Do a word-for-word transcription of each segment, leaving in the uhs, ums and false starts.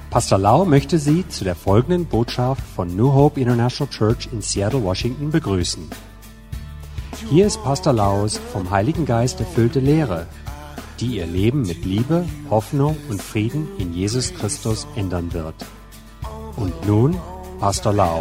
Pastor Lau möchte Sie zu der folgenden Botschaft von New Hope International Church in Seattle, Washington begrüßen. Hier ist Pastor Laus vom Heiligen Geist erfüllte Lehre, die Ihr Leben mit Liebe, Hoffnung und Frieden in Jesus Christus ändern wird. Und nun Pastor Lau.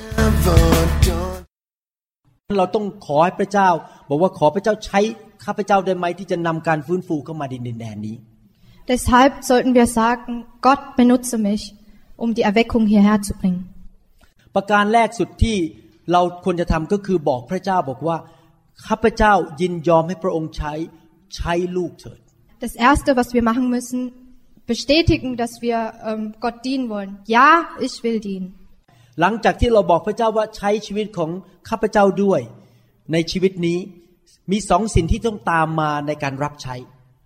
เราต้องขอให้พระเจ้าบอกว่าขอพระเจ้าใช้ข้าพเจ้าได้ไหมที่จะนำการฟื้นฟูเข้ามาในดินแดนนี้ Deshalb sollten wir sagen, Gott benutze mich, um die Erweckung hierher zu bringen. ประการแรกสุดที่เราควรจะทำก็คือบอกพระเจ้าบอกว่าข้าพเจ้ายินยอมให้พระองค์ใช้ใช้ลูกเถิด Das erste, was wir machen müssen, bestätigen, dass wir ähm, Gott dienen wollen. Ja, ich will dienen. หลังจากที่เราบอกพระเจ้าว่าใช้ชีวิตของข้าพเจ้าด้วยในชีวิตนี้มีสองสิ่งที่ต้องตามมาในการรับใช้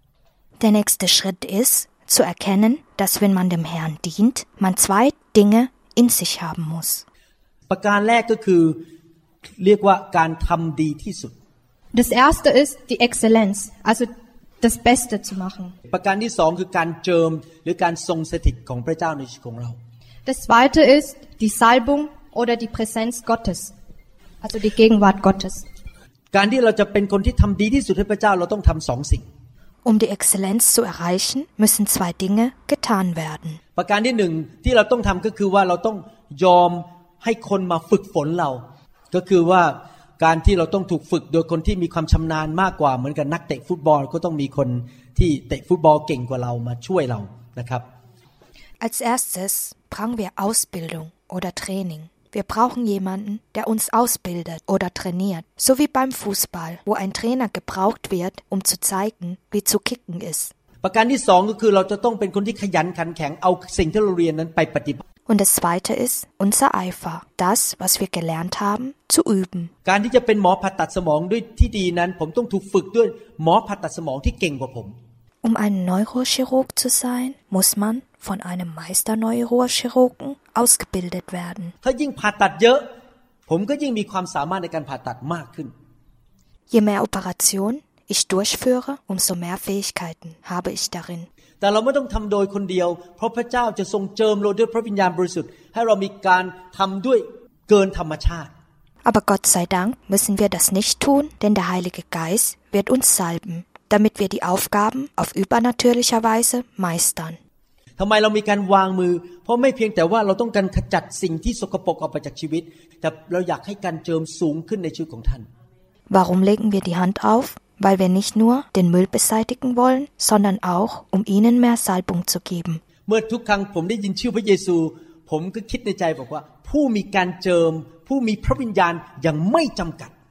Der nächste Schritt ist, zu erkennen, dass wenn man dem Herrn dient, man zwei Dinge in sich haben muss. ประการแรกก็คือเรียกว่าการทำดีที่สุด Das erste ist die Exzellenz, also das Beste zu machen. ประการที่สองคือการเจิมหรือการทรงสถิตของพระเจ้าในชีวิตของเรา Das zweite ist die Salbung oder die Präsenz Gottes, also die Gegenwart Gottes. การที่เราจะเป็นคนที่ทำดีที่สุดให้พระเจ้าเราต้องทำสองสิ่ง Um die Exzellenz zu erreichen, müssen zwei Dinge getan werden. ประการที่หนึ่งที่เราต้องทำก็คือว่าเราต้องยอมให้คนมาฝึกฝนเราก็คือว่าการที่เราต้องถูกฝึกโดยคนที่มีความชำนาญมากกว่าเหมือนกับนักเตะฟุตบอลก็ต้องมีคนที่เตะฟุตบอลเก่งกว่าเรามาช่วยเรานะครับ Als erstes brauchen wir Ausbildung oder Training. Wir brauchen jemanden, der uns ausbildet oder trainiert, so wie beim Fußball, wo ein Trainer gebraucht wird, um zu zeigen, wie zu kicken ist. ประการที่สองก็คือเราจะต้องเป็นคนที่ขยันขันแข็งเอาสิ่งที่เราเรียนนั้นไปปฏิบัติ Und das zweite ist unser Eifer, das, was wir gelernt haben, zu üben. การที่จะเป็นหมอผ่าตัดสมองด้วยที่ดีนั้นผมต้องถูกฝึกด้วยหมอผ่าตัดสมองที่เก่งกว่าผม Um ein Neurochirurg zu sein, muss man von einem Meister-Neurochirurgen ausgebildet werden. ถ้ายิ่งผ่าตัดเยอะผมก็ยิ่งมีความสามารถในการผ่าตัดมากขึ้น Je mehr Operationen ich durchführe, umso mehr Fähigkeiten habe ich darin. แต่เราไม่ต้องทำโดยคนเดียวเพราะพระเจ้าจะทรงเจิมเราด้วยพระวิญญาณบริสุทธิ์ให้เรามีการทำด้วยเกินธรรมชาติ Aber Gott sei Dank müssen wir das nicht tun, denn der Heilige Geist wird uns salben, damit wir die Aufgaben auf übernatürlicher Weise meistern. ทำไมเรามีการวางมือเพราะไม่เพียงแต่ว่าเราต้องการขจัดสิ่งที่สกปรกออกไปจากชีวิตแต่เราอยากให้การเจิมสูงขึ้นในชีวิตของท่าน Warum legen wir die Hand auf? Weil wir nicht nur den Müll beseitigen wollen, sondern auch, um ihnen mehr Salbung zu geben. เมื่อทุกครั้งผมได้ยินชื่อพระเยซูผมก็คิดในใจบอกว่าผู้มีการเจิมผู้มีพระวิญญาณอย่างไม่จำกัด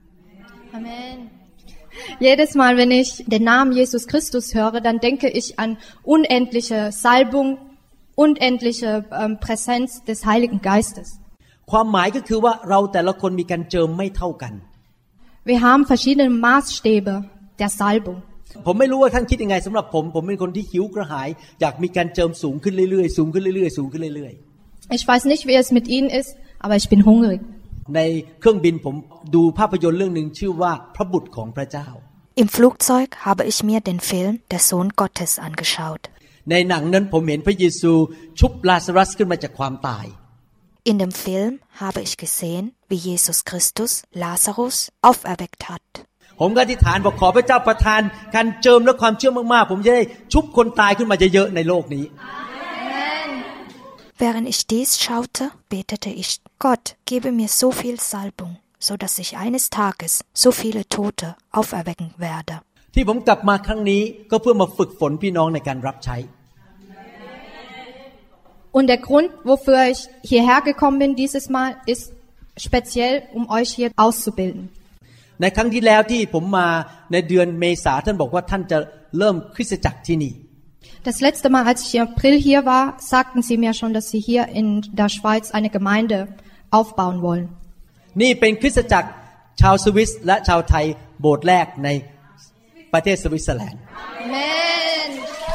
Amen. Jedes Mal, wenn ich den Namen Jesus Christus höre, dann denke ich an unendliche Salbung, unendliche ähm, Präsenz des Heiligen Geistes. ความหมายก็คือว่าเราแต่ละคนมีการเจิมไม่เท่ากัน Wir haben verschiedene Maßstäbe der Salbung. ผมไม่รู้ว่าท่านคิดยังไงสำหรับผมผมเป็นคนที่หิวกระหายอยากมีการเจิมสูงขึ้นเรื่อยๆสูงขึ้นเรื่อยๆสูงขึ้นเรื่อยๆ Ich weiß nicht, wie es mit Ihnen ist, aber ich bin hungrig. ในเครื่องบินผมดูภาพยนตร์เรื่องนึงชื่อว่าพระบุตรของพระเจ้า Im Flugzeug habe ich mir den Film Der Sohn Gottes angeschaut. ในหนังนั้นผมเห็นพระเยซูชุบลาซารัสขึ้นมาจากความตาย In dem Film habe ich gesehen, wie Jesus Christus Lazarus auferweckt hat. ผมก็อธิษฐานบอกขอพระเจ้าประทานการเจิมและความเชื่อมากๆผมจะได้ชุบคนตายขึ้นมาเยอะๆในโลกนี้ Während ich dies schaute, betete ich, Gott, gebe mir so viel Salbung, so dass ich eines Tages so viele Tote auferwecken werde. ที่ผมกลับมาครั้งนี้ก็เพื่อมาฝึกฝนพี่น้องในการรับใช้ Und der Grund, wofür ich hierher gekommen bin dieses Mal, ist speziell, um euch hier auszubilden. ในครั้งที่แล้วที่ผมมาในเดือนเมษาท่านบอกว่าท่านจะเริ่มคริสตจักรที่นี่ Das letzte Mal, als ich im April hier war, sagten sie mir schon, dass sie hier in der Schweiz eine Gemeinde aufbauen wollen. นี่เป็นคริสตจักรชาวสวิสและชาวไทยโบสถ์แรกในประเทศสวิตเซอร์แลนด์ Amen.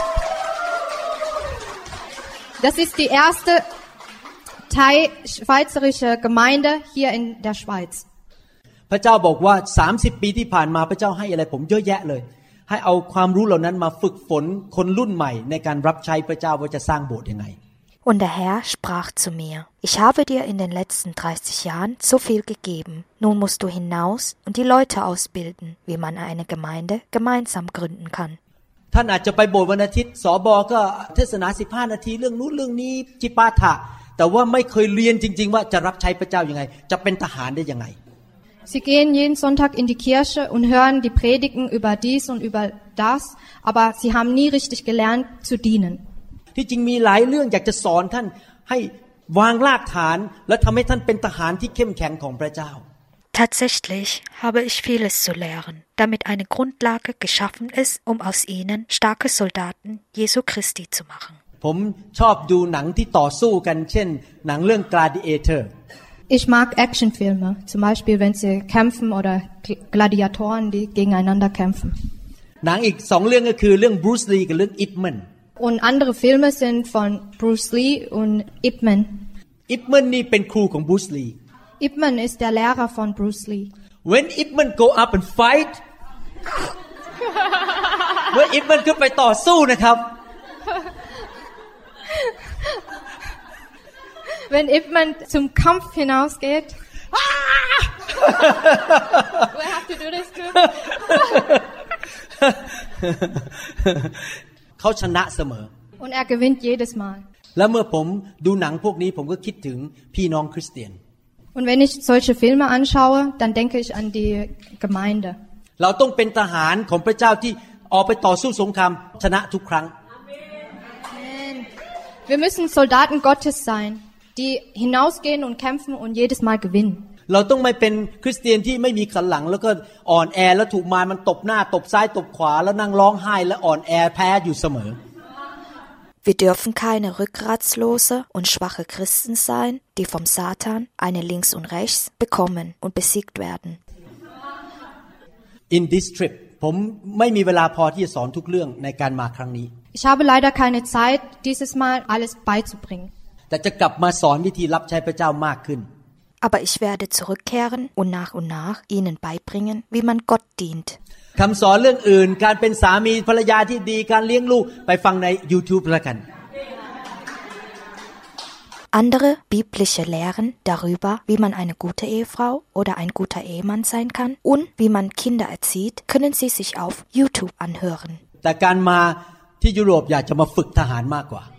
Das ist die erste Thai-schweizerische Gemeinde hier in der Schweiz. พระเจ้าบอกว่าสามสิบปีที่ผ่านมาพระเจ้าให้อะไรผมเยอะแยะเลยให้เอาความรู้เหล่านั้นมาฝึกฝนคนรุ่นใหม่ในการรับใช้พระเจ้าว่าจะสร้างโบสถ์ยังไง Und der Herr sprach zu mir, ich habe dir in den letzten dreißig Jahren so viel gegeben. Nun musst du hinaus und die Leute ausbilden, wie man eine Gemeinde gemeinsam gründen kann. ท่านอาจจะไปโบสถ์วันอาทิตย์สบก็เทศนาสิบห้านาทีเรื่องนู้นเรื่องนี้จิปาถะแต่ว่าไม่เคยเรียนจริงๆว่าจะรับใช้พระเจ้ายังไงจะเป็นทหารได้ยังไง Sie gehen jeden Sonntag in die Kirche und hören die Predigen über dies und über das, aber sie haben nie richtig gelernt zu dienen. ที่จริงมีหลายเรื่องอยากจะสอนท่านให้วางรากฐานและทำให้ท่านเป็นทหารที่เข้มแข็งของพระเจ้า Tatsächlich habe ich vieles zu lehren, damit eine Grundlage geschaffen ist, um aus ihnen starke Soldaten Jesu Christi zu machen. ผมชอบดูหนังที่ต่อสู้กันเช่นหนังเรื่อง Gladiator Ich mag Actionfilme, zum Beispiel wenn sie kämpfen oder Gladiatoren, die gegeneinander kämpfen. หนังอีกสองเรื่องก็คือเรื่อง Bruce Lee กับเรื่อง Ip Man Und andere Filme sind von Bruce Lee und Ip Man. Ip Man นี่เป็นครูของ Bruce Lee. Ip Man ist der Lehrer von Bruce Lee. When Ip Man go up and fight เมื่อ Ip Man ขึ้นไปต่อสู้นะครับ Wenn Ip Man zum Kampf hinausgeht. Do I have to do this too? เขาชนะเสมอ Und er gewinnt jedes Mal. แล้วเมื่อผมดูหนังพวกนี้ผมก็คิดถึงพี่น้องคริสเตียน Und wenn ich solche Filme anschaue, dann denke ich an die Gemeinde. เราต้องเป็นทหารของพระเจ้าที่ออกไปต่อสู้สงครามชนะทุกครั้ง Amen. Wir müssen Soldaten Gottes sein, die hinausgehen und kämpfen und jedes Mal gewinnen. เราต้องไม่เป็นคริสเตียนที่ไม่มีขันหลังแล้วก็อ่อนแอแล้วถูกมารมันตบหน้าตบซ้ายตบขวาแล้วนั่งร้องไห้และอ่อนแอแพ้อยู่เสมอ Wir dürfen keine rückgratslose und schwache Christen sein, die vom Satan, eine links und rechts, bekommen und besiegt werden. In this trip ผมไม่มีเวลาพอที่จะสอนทุกเรื่องในการมาครั้งนี้ Ich habe leider keine Zeit, dieses Mal alles beizubringen. แต่จะกลับมาสอนวิธีรับใช้พระเจ้ามากขึ้น Aber ich werde zurückkehren und nach und nach ihnen beibringen, wie man Gott dient. คำสอนเรื่องอื่นการเป็นสามีภรรยาที่ดีการเลี้ยงลูกไปฟังใน YouTube แล้วกัน Andere biblische Lehren darüber, wie man eine gute Ehefrau oder ein guter Ehemann sein kann und wie man Kinder erzieht, können Sie sich auf YouTube anhören. แต่การมาที่ยุโรปอยากจะมาฝึกทหารมากกว่า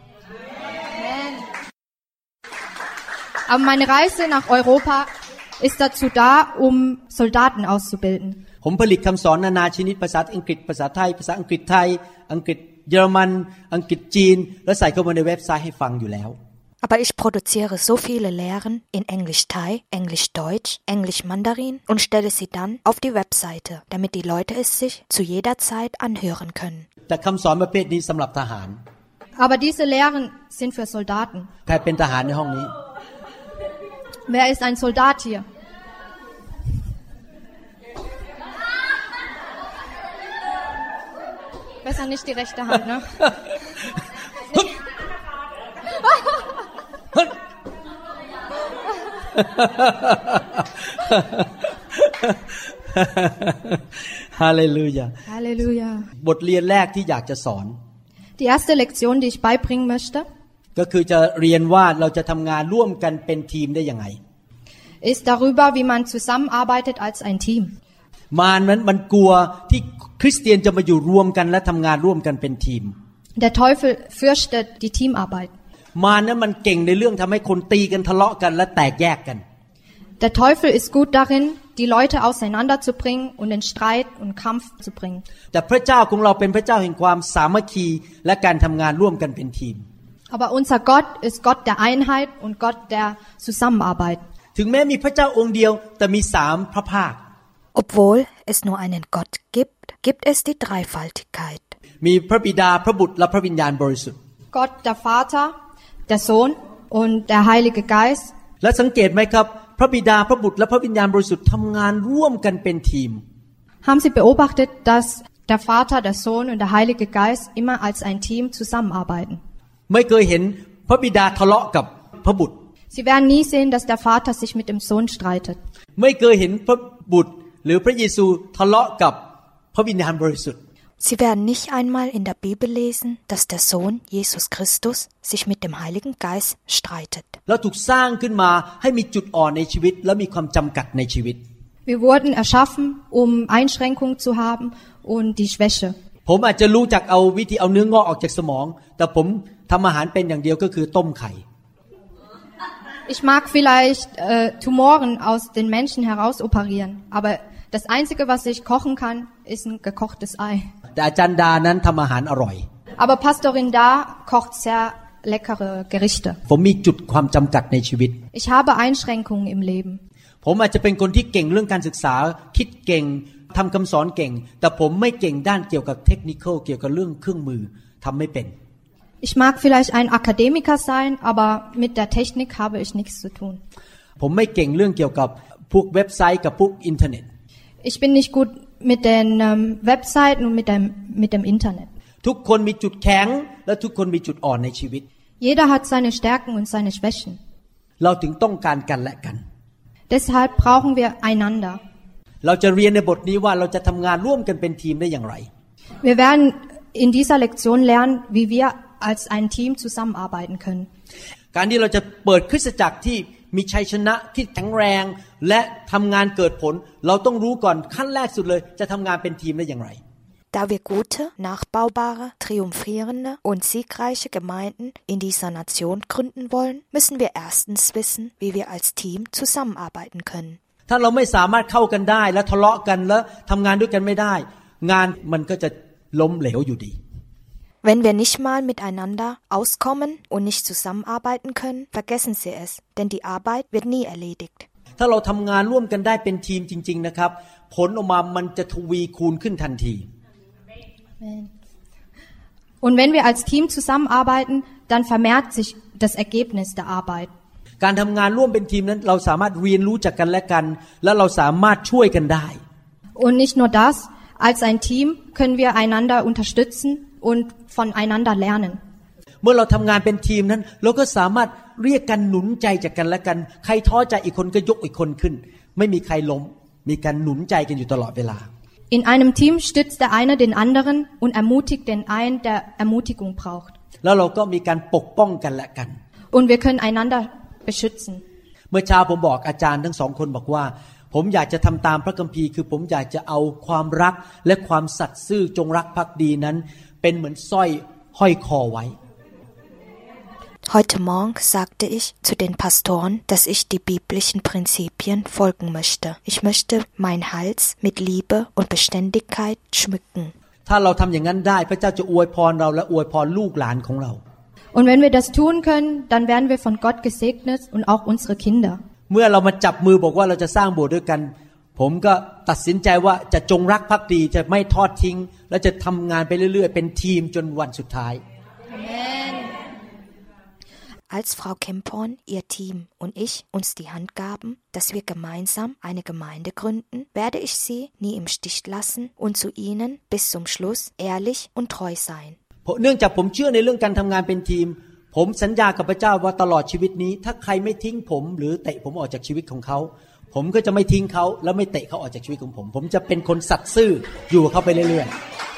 Aber meine Reise nach Europa ist dazu da, um Soldaten auszubilden. ผมผลิตคำสอนนานาชนิดภาษาอังกฤษภาษาไทยภาษาอังกฤษไทยอังกฤษเยอรมันอังกฤษจีนแล้วใส่เข้ามาในเว็บไซต์ให้ฟังอยู่แล้ว Aber ich produziere so viele Lehren in Englisch-Thai, Englisch-Deutsch, Englisch-Mandarin und stelle sie dann auf die Webseite, damit die Leute es sich zu jeder Zeit anhören können. แต่คำสอนประเภทนี้สำหรับทหาร Aber diese Lehren sind für Soldaten. ใครเป็นทหารในห้องนี้ Wer ist ein Soldat hier? Besser nicht die rechte Hand, ne? Halleluja. Halleluja. บทเรียนแรกที่อยากจะสอน Die erste Lektion, die ich beibringen möchte, ก็คือจะเรียนว่าเราจะทำงานร่วมกันเป็นทีมได้ยังไง ist darüber, wie man zusammenarbeitet als ein Team. มารนั้นมันกลัวที่คริสเตียนจะมาอยู่รวมกันและทำงานร่วมกันเป็นทีม Der Teufel fürchtet die Teamarbeit. มารนั้นมันเก่งในเรื่องทำให้คนตีกันทะเลาะกันและแตกแยกกัน Der Teufel ist gut darin, die Leute auseinanderzubringen und in Streit und Kampf zu bringen. แต่พระเจ้าของเราเป็นพระเจ้าแห่งความสามัคคีและการทำงานร่วมกันเป็นทีม Aber unser Gott ist Gott der Einheit und Gott der Zusammenarbeit. ถึงแม้มีพระเจ้าองค์เดียวแต่มีสามพระภาค Obwohl es nur einen Gott gibt, gibt es die Dreifaltigkeit. มีพระบิดาพระบุตรและพระวิญญาณบริสุทธิ์ Gott der Vater, der Sohn und der Heilige Geist. และสังเกตไหมครับพระบิดาพระบุตรและพระวิญญาณบริสุทธิ์ทำงานร่วมกันเป็นทีม Haben Sie beobachtet, dass der Vater, der Sohn und der Heilige Geist immer als ein Team zusammenarbeiten? ไม่เคยเห็นพระบิดาทะเลาะกับพระบุตร Sie werden nie sehen, dass der Vater sich mit dem Sohn streitet. ไม่เคยเห็นพระบุตรหรือพระเยซูทะเลาะกับพระวิญญาณบริสุทธิ์ Sie werden nicht einmal in der Bibel lesen, dass der Sohn Jesus Christus sich mit dem Heiligen Geist streitet. เราถูกสร้างขึ้นมาให้มีจุดอ่อนในชีวิตและมีความจำกัดในชีวิต Wir wurden erschaffen, um Einschränkungen zu haben und die Schwäche. ผมอาจจะรู้จักเอาวิธีเอาเนื้องอกออกจากสมองแต่ผมทำอาหารเป็นอย่างเดียวก็คือต้มไข่ Ich mag vielleicht äh, Tumoren aus den Menschen heraus operieren, aber das Einzige, was ich kochen kann, ist ein gekochtes Ei. แต่อาจารย์ดานั้นทำอาหารอร่อย Aber Pastorin Da kocht sehr leckere Gerichte. ผมมีจุดความจำกัดในชีวิต Ich habe Einschränkungen im Leben. ผมอาจจะเป็นคนที่เก่งเรื่องการศึกษาคิดเก่งทำคำสอนเก่งแต่ผมไม่เก่งด้านเกี่ยวกับเทคนิคเกี่ยวกับเรื่องเครื่องมือทำไม่เป็น Ich mag vielleicht ein Akademiker sein, aber mit der Technik habe ich nichts zu tun. ผมไม่เก่งเรื่องเกี่ยวกับพวกเว็บไซต์กับพวกอินเทอร์เน็ต Ich bin nicht gut mit den ähm, Webseiten und mit dem mit dem Internet. ทุกคนมีจุดแข็งและทุกคนมีจุดอ่อนในชีวิต Jeder hat seine Stärken und seine Schwächen. เราถึงต้องการกันและกัน Deshalb brauchen wir einander. เราจะเรียนในบทนี้ว่าเราจะทำงานร่วมกันเป็นทีมได้อย่างไร Wir werden in dieser Lektion lernen, wie wir als ein Team zusammenarbeiten können. การที่เราจะเปิดคริสตจักรที่มีชัยชนะที่แข็งแรงและทำงานเกิดผลเราต้องรู้ก่อนขั้นแรกสุดเลยจะทำงานเป็นทีมได้อย่างไร Da wir gute, nachbaubare, triumphierende und siegreiche Gemeinden in dieser Nation gründen wollen, müssen wir erstens wissen, wie wir als Team zusammenarbeiten können. ถ้าเราไม่สามารถเข้ากันได้และทะเลาะกันแล้วทำงานด้วยกันไม่ได้งานมันก็จะล้มเหลวอยู่ดี Wenn wir nicht mal miteinander auskommen und nicht zusammenarbeiten können, vergessen Sie es, denn die Arbeit wird nie erledigt. ถ้าเราทำงานร่วมกันได้เป็นทีมจริงๆนะครับผลออกมามันจะทวีคูณขึ้นทันที Und wenn wir als Team zusammenarbeiten, dann vermehrt sich das Ergebnis der Arbeit. การทำงานร่วมเป็นทีมนั้นเราสามารถเรียนรู้จากกันและกันและเราสามารถช่วยกันได้ Und nicht nur das, als ein Team können wir einander unterstützen und voneinander lernen. เมื่อเราทำงานเป็นทีมนั้นเราก็สามารถเรียกกันหนุนใจจากกันและกันใครท้อใจอีกคนก็ยกอีกคนขึ้นไม่มีใครล้มมีการหนุนใจกันอยู่ตลอดเวลา In einem Team stützt der eine den anderen und ermutigt den einen, der Ermutigung braucht. แล้วเราก็มีการปกป้องกันและกัน Und wir können einander beschützen. เมื่อเช้าผมบอกอาจารย์ทั้งสองคนบอกว่าผมอยากจะทำตามพระคัมภีร์คือผมอยากจะเอาความรักและความสัตย์ซื่อจงรักภักดีนั้นเป็นเหมือนสร้อยห้อยคอไว้ Heute Morgen sagte ich zu den Pastoren, dass ich die biblischen Prinzipien folgen möchte. Ich möchte meinen Hals mit Liebe und Beständigkeit schmücken. ถ้าเราทำอย่างนั้นได้พระเจ้าจะอวยพรเราและอวยพรลูกหลานของเรา Und wenn wir das tun können, dann werden wir von Gott gesegnet und auch unsere Kinder. เมื่อเรามาจับมือบอกว่าเราจะสร้างโบสถ์ด้วยกันผมก็ตัดสินใจว่าจะจงรักภักดีจะไม่ทอดทิ้งและจะทำงานไปเรื่อยๆเป็นทีมจนวันสุดท้าย Amen. Als Frau Kempon, ihr Team und ich uns die Hand gaben, dass wir gemeinsam eine Gemeinde gründen, werde ich sie nie im Stich lassen und zu ihnen bis zum Schluss ehrlich und treu sein. เนื่องจากผมเชื่อในเรื่องการทำงานเป็นทีมผมสัญญากับพระเจ้าว่าตลอดชีวิตนี้ถ้าใครไม่ทิ้งผมหรือเตะผมออกจากชีวิตของเขาผมก็จะไม่ทิ้งเขาและไม่เตะเขาออกจากชีวิตของผมผมจะเป็นคนสัตย์ซื่ออยู่กับเขาไปเรื่อยๆ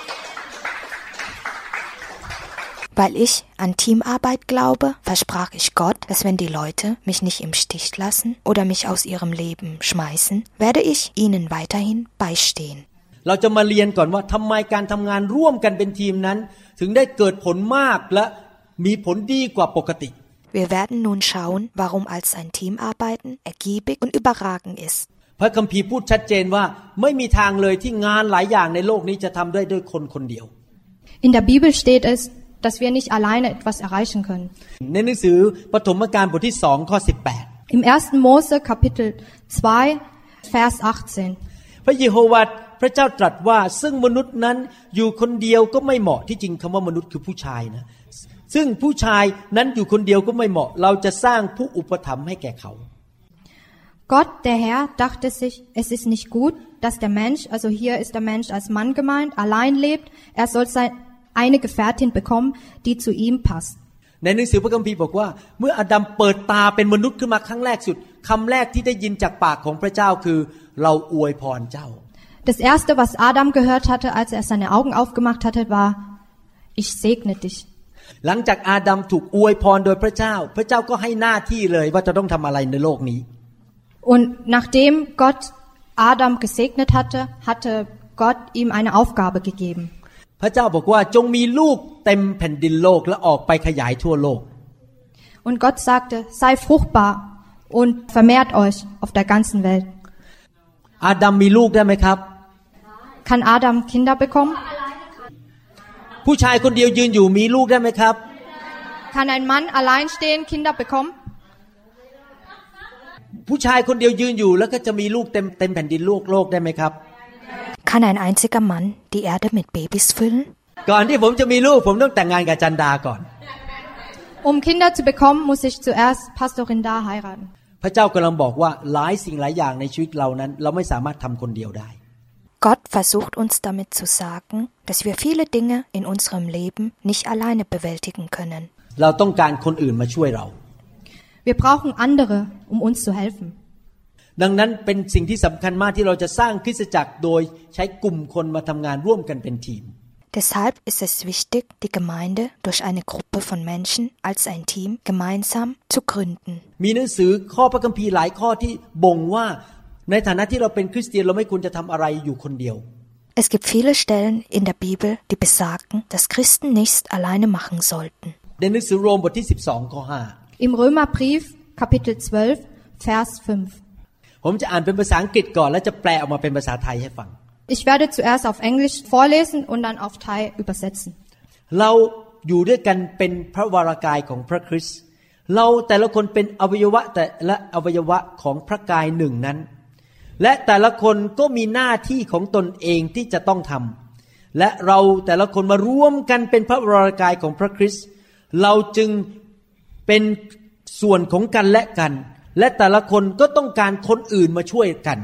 Weil ich an Teamarbeit glaube, versprach ich Gott, dass wenn die Leute mich nicht im Stich lassen oder mich aus ihrem Leben schmeißen, werde ich ihnen weiterhin beistehen. เราจะมาเรียนก่อนว่าทำไมการทำงานร่วมกันเป็นทีมนั้นถึงได้เกิดผลมากและมีผลดีกว่าปกติ Wir werden nun schauen, warum als ein Teamarbeiten ergiebig und überragend ist. พระคัมภีร์พูดชัดเจนว่าไม่มีทางเลยที่งานหลายอย่างในโลกนี้จะทำได้ด้วยคนคนเดียว In der Bibel steht es, dass wir nicht alleine etwas erreichen können. ในหนังสือปฐมกาลบทที่สองข้อสิบแปด Im ersten Mose Kapitel zwei Vers achtzehn. พระเยโฮวาห์พระเจ้าตรัสว่าซึ่งมนุษย์นั้นอยู่คนเดียวก็ไม่เหมาะที่จริงคำว่ามนุษย์คือผู้ชายนะซึ่งผู้ชายนั้นอยู่คนเดียวก็ไม่เหมาะเราจะสร้างผู้อุปถัมภ์ให้แก่เขา Gott, der Herr, dachte sich, es ist nicht gut, dass der Mensch, also hier ist der Mensch als Mann gemeint, allein lebt. Er soll sein, eine Gefährtin bekommen, die zu ihm passt. ในหนังสือพระคัมภีร์บอกว่าเมื่ออาดัมเปิดตาเป็นมนุษย์ขึ้นมาครั้งแรกสุดคำแรกที่ได้ยินจากปากของพระเจ้าคือเราอวยพรเจ้า Das erste, was Adam gehört hatte, als er seine Augen aufgemacht hatte, war: Ich segne dich. หลังจากอาดัมถูกอวยพรโดยพระเจ้าพระเจ้าก็ให้หน้าที่เลยว่าจะต้องทำอะไรในโลกนี้ Und nachdem Gott Adam gesegnet hatte, hatte Gott ihm eine Aufgabe gegeben. พระเจ้าบอกว่าจงมีลูกเต็มแผ่นดินโลกและออกไปขยายทั่วโลก Und Gott sagte: Sei fruchtbar und vermehrt euch auf der ganzen Welt. อาดัมมีลูกได้ไหมครับ Kann Adam Kinder bekommen? ผู้ชายคนเดียวยืนอยู่มีลูกได้ไหมครับ Kann ein Mann allein stehen Kinder bekommen? ผู้ชายคนเดียวยืนอยู่แล้วก็จะมีลูกเต็มเต็มแผ่นดินโลกโลกได้ไหมครับ Kann ein einziger Mann die Erde mit Babys füllen? ก่อนที่ผมจะมีลูกผมต้องแต่งงานกับจันดาก่อน Um Kinder zu bekommen, muss ich zuerst Pastorin Da heiraten. พระเจ้ากำลังบอกว่าหลายสิ่งหลายอย่างในชีวิตเรานั้นเราไม่สามารถทำคนเดียวได้ Gott versucht uns damit zu sagen, dass wir viele Dinge in unserem Leben nicht alleine bewältigen können. เราต้องการคนอื่นมาช่วยเรา Wir brauchen andere, um uns zu helfen. ดังนั้นเป็นสิ่งที่สำคัญมากที่เราจะสร้างคริสตจักรโดยใช้กลุ่มคนมาทำงานร่วมกันเป็นทีม Deshalb ist es wichtig, die Gemeinde durch eine Gruppe von Menschen als ein Team gemeinsam zu gründen. มีหนังสือข้อพระคัมภีร์หลายข้อที่บ่งว่าในฐานะที่เราเป็นคริสเตียนเราไม่ควรจะทำอะไรอยู่คนเดียว Es gibt viele Stellen in der Bibel, die besagen, dass Christen nichts alleine machen sollten. ในหนังสือโรมบทที่สิบสองข้อห้า Im Römerbrief Kapitel zwölf Vers fünf. ผมจะอ่านเป็นภาษาอังกฤษก่อนแล้วจะแปลออกมาเป็นภาษาไทยให้ฟัง Ich werde zuerst auf Englisch vorlesen und dann auf Thai übersetzen. เราอยู่ด้วยกันเป็นพระวรากายของพระคริสต์เราแต่ละคนเป็นอวัยวะแต่ละอวัยวะของพระกายหนึ่งนั้นและแต่ละคนก็มีหน้าที่ของตนเองที่จะต้องทำและเราแต่ละคนมารวมกันเป็นพระวรากายของพระคริสต์เราจึงเป็นส่วนของกันและกันและแต่ละคนก็ต้องการคนอื่นมาช่วยกัน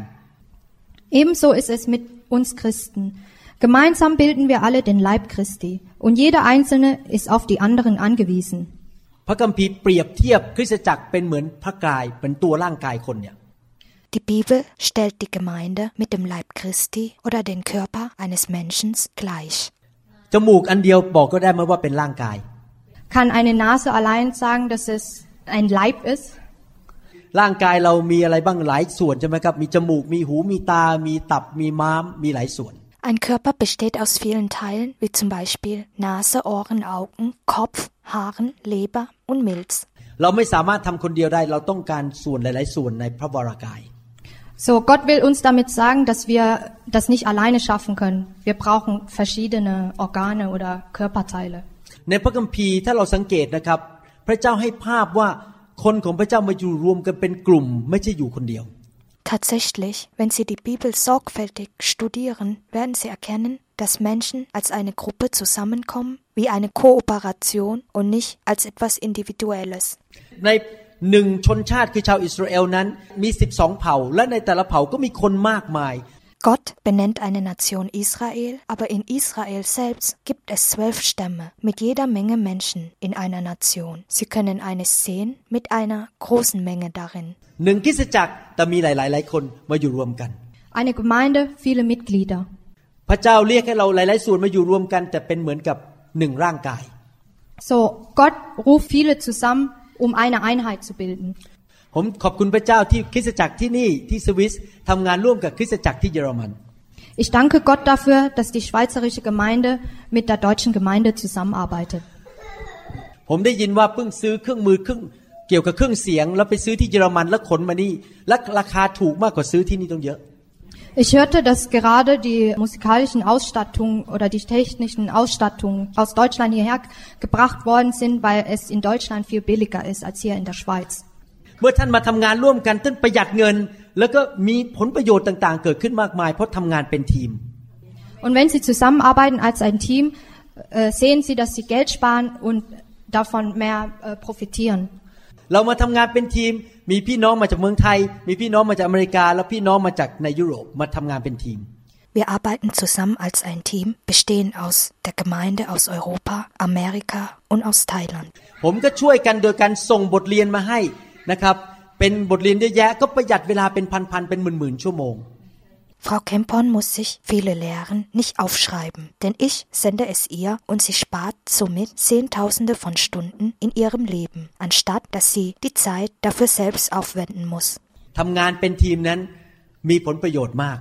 Ebenso ist es mit uns Christen. Gemeinsam bilden wir alle den Leib Christi und jeder Einzelne ist auf die anderen angewiesen. พระคัมภีร์เปรียบเทียบคริสตจักรเป็นเหมือนพระกายเป็นตัวร่างกายคนเนี่ย Die Bibel stellt die Gemeinde mit dem Leib Christi oder den Körper eines Menschen gleich. จมูกอันเดียวบอกก็ได้ไหมว่าเป็นร่างกาย Kann eine Nase allein sagen, dass es ein Leib ist? ร่างกายเรามีอะไรบ้างหลายส่วนใช่ไหมครับมีจมูกมีหูมีตามีตับมีม้ามมีหลายส่วน Ein Körper besteht aus vielen Teilen, wie zum Beispiel Nase, Ohren, Augen, Kopf, Haaren, Leber und Milz. เราไม่สามารถทำคนเดียวได้เราต้องการส่วนหลายๆส่วนในพระวรากาย So, Gott will uns damit sagen, dass wir das nicht alleine schaffen können. Wir brauchen verschiedene Organe oder Körperteile. ในพระคัมภีร์ถ้าเราสังเกตนะครับพระเจ้าให้ภาพว่าคนของพระเจ้ามาอยู่รวมกันเป็นกลุ่มไม่ใช่อยู่คนเดียว Tatsächlich, wenn Sie die Bibel sorgfältig studieren, werden Sie erkennen, dass Menschen als eine Gruppe zusammenkommen, wie eine Kooperation und nicht als etwas Individuelles. ในหนึ่งชนชาติคือชาวอิสราเอลนั้นมีสิบสองเผ่าและในแต่ละเผ่าก็มีคนมากมาย Gott benennt eine Nation Israel, aber in Israel selbst gibt es zwölf Stämme mit jeder Menge Menschen in einer Nation. Sie können eines sehen mit einer großen Menge darin. หนึ่งคริสตจักรแต่มีหลายๆหลายคนมาอยู่รวมกัน Eine Gemeinde, viele Mitglieder. พระเจ้าเรียกให้เราหลายๆส่วนมาอยู่รวมกันแต่เป็นเหมือนกับหนึ่งร่างกาย So, Gott ruft viele zusammen, um eine Einheit zu bilden. ผมขอบคุณพระเจ้าที่คริสตจักรที่นี่ที่สวิสทำงานร่วมกับคริสตจักรที่เยอรมัน Ich danke Gott dafür, dass die schweizerische Gemeinde mit der deutschen Gemeinde zusammenarbeitet. ผมได้ยินว่าเพิ่งซื้อเครื่องมือเครื่องเกี่ยวกับเครื่องเสียงแล้วไปซื้อที่เยอรมันแล้วขนมานี่และราคาถูกมากกว่าซื้อที่นี่ต้องเยอะ Ich hörte, dass gerade die musikalischen Ausstattungen oder die technischen Ausstattungen aus Deutschland hierher gebracht worden sind, weil es in Deutschland viel billiger ist als hier in der Schweiz. เมื่อท่านมาทำงานร่วมกันท่านประหยัดเงินแล้วก็มีผลประโยชน์ต่างๆเกิดขึ้นมากมายเพราะทำงานเป็นทีม Und wenn Sie zusammenarbeiten als ein Team, äh, sehen Sie, dass Sie Geld sparen und davon mehr äh, profitieren. เรามาทำงานเป็นทีมมีพี่น้องมาจากเมืองไทยมีพี่น้องมาจากอเมริกาแล้วพี่น้องมาจากในยุโรปมาทำงานเป็นทีม Wir arbeiten zusammen als ein Team, bestehen aus der Gemeinde aus Europa, Amerika und aus Thailand. ผมก็ช่วยกันโดยการส่งบทเรียนมาให้นะครับเป็นบทเรียนเยอะแยะก็ประหยัดเวลาเป็นพันๆเป็นหมื่นๆชั่วโมง Frau Kempon muss sich viele Lehren nicht aufschreiben, denn ich sende es ihr und sie spart somit Zehntausende von Stunden in ihrem Leben, anstatt dass sie die Zeit dafür selbst aufwenden muss. ทำงานเป็นทีมนั้นมีผลประโยชน์มาก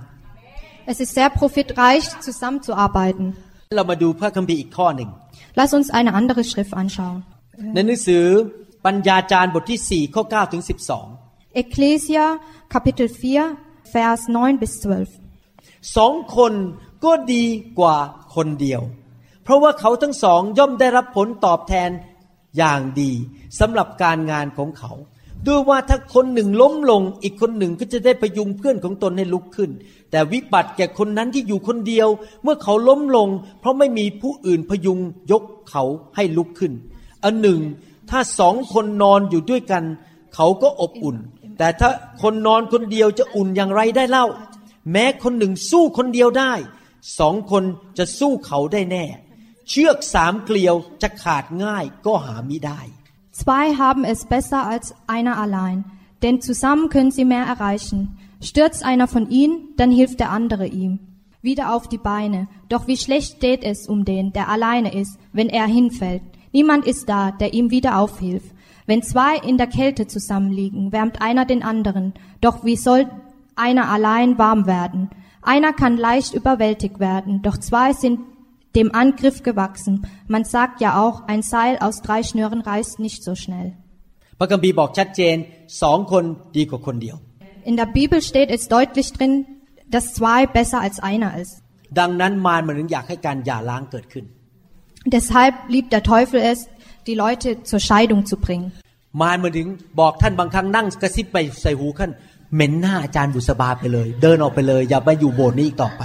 Es ist sehr profitreich, zusammenzuarbeiten. เรามาดูพระคัมภีร์อีกข้อหนึ่ง Lass uns eine andere Schrift anschauen. ในหนังสือปัญญาจารย์บทที่สี่ข้อเก้าถึงสิบสอง Ecclesia Kapitel vier Vers neun bis zwölf. สองคนก็ดีกว่าคนเดียวเพราะว่าเขาทั้งสองย่อมได้รับผลตอบแทนอย่างดีสำหรับการงานของเขาด้วยว่าถ้าคนหนึ่งล้มลงอีกคนหนึ่งก็จะได้พยุงเพื่อนของตนให้ลุกขึ้นแต่วิบัติแก่คนนั้นที่อยู่คนเดียวเมื่อเขาล้มลงเพราะไม่มีผู้อื่นพยุงยกเขาให้ลุกขึ้นอันหนึ่งถ้าสองคนนอนอยู่ด้วยกันเขาก็อบอุ่นแต่ถ้าคนนอนคนเดียวจะอุ่นอย่างไรได้เล่าแม้คนหนึ่งสู้คนเดียวได้สองคนจะสู้เขาได้แน่เชือกสามเกลียวจะขาดง่ายก็หามิได้ Zwei haben es besser als einer allein, denn zusammen können sie mehr erreichen. Stürzt einer von ihnen, dann hilft der andere ihm wieder auf die Beine. Doch wie schlecht steht es um den, der alleine ist, wenn er hinfällt. Niemand ist da, der ihm wieder aufhilft. Wenn zwei in der Kälte zusammenliegen, wärmt einer den anderen. Doch wie soll einer allein warm werden? Einer kann leicht überwältigt werden, doch zwei sind dem Angriff gewachsen. Man sagt ja auch, ein Seil aus drei Schnüren reißt nicht so schnell. พระคัมภีร์บอกชัดเจนสองคนดีกว่าคนเดียว In der Bibel steht es deutlich drin, dass zwei besser als einer ist. ดังนั้นมารมันถึงอยากให้การหย่าร้างเกิดขึ้น Deshalb liebt der Teufel es, die Leute zur Scheidung zu bringen. มารมันถึงบอกท่านบางครั้งนั่งกระซิบไปใส่หูท่านเหม็นหน้าอาจารย์บุษบาไปเลยเดินออกไปเลยอย่ามาอยู่โบสถ์นี้อีกต่อไป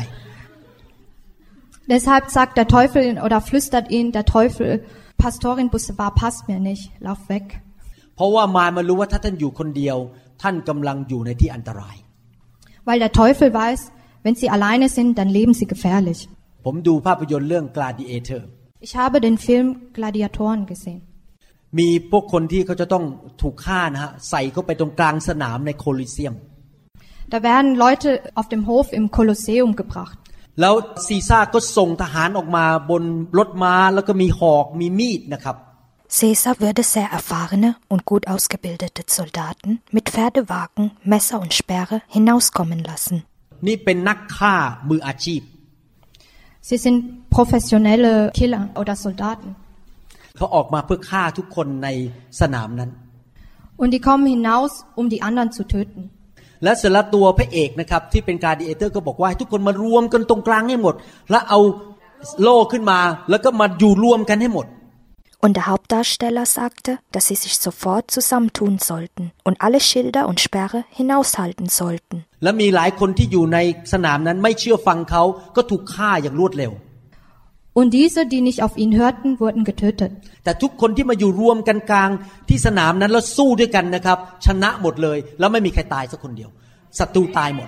Deshalb sagt der Teufel oder flüstert ihn der Teufel, Pastorin Busebar passt mir nicht, lauf weg. เพราะว่ามารมันรู้ว่าถ้าท่านอยู่คนเดียวท่านกำลังอยู่ในที่อันตราย Weil der Teufel weiß, wenn sie alleine sind, dann leben sie gefährlich. ผมดูภาพยนตร์เรื่อง Gladiator. Ich habe den Film Gladiatoren gesehen. มีพวกคนที่เขาจะต้องถูกฆ่านะฮะใส่เข้าไปตรงกลางสนามในโคลิเซียม Da werden Leute auf dem Hof im Kolosseum gebracht. แล้วซีซ่าก็ส่งทหารออกมาบนรถม้าแล้วก็มีหอกมีมีดนะครับ Caesar würde sehr erfahrene und gut ausgebildete Soldaten mit Pferdewagen, Messer und Speere hinauskommen lassen. นี่เป็นนักฆ่ามืออาชีพ Sie sind professionelle Killer oder Soldaten. เขาออกมาเพื่อฆ่าทุกคนในสนามนั้น Und die kommen hinaus, um die anderen zu töten. และเสร็จแล้วตัวพระเอกนะครับที่เป็นกลาดิเอเตอร์ก็บอกว่าให้ทุกคนมารวมกันตรงกลางให้หมดแล้วเอาโล่ขึ้นมาแล้วก็มาอยู่รวมกันให้หมด Und der Hauptdarsteller sagte, dass sie sich sofort zusammentun sollten und alle Schilder und Speere hinaushalten sollten. และมีหลายคนที่อยู่ในสนามนั้นไม่เชื่อฟังเขาก็ถูกฆ่าอย่างรวดเร็ว Und diese, die nicht auf ihn hörten, wurden getötet. แต่ทุกคนที่มาอยู่รวมกันกลางที่สนามนั้นแล้วสู้ด้วยกันนะครับชนะหมดเลยแล้วไม่มีใครตายสักคนเดียวศัตรูตายหมด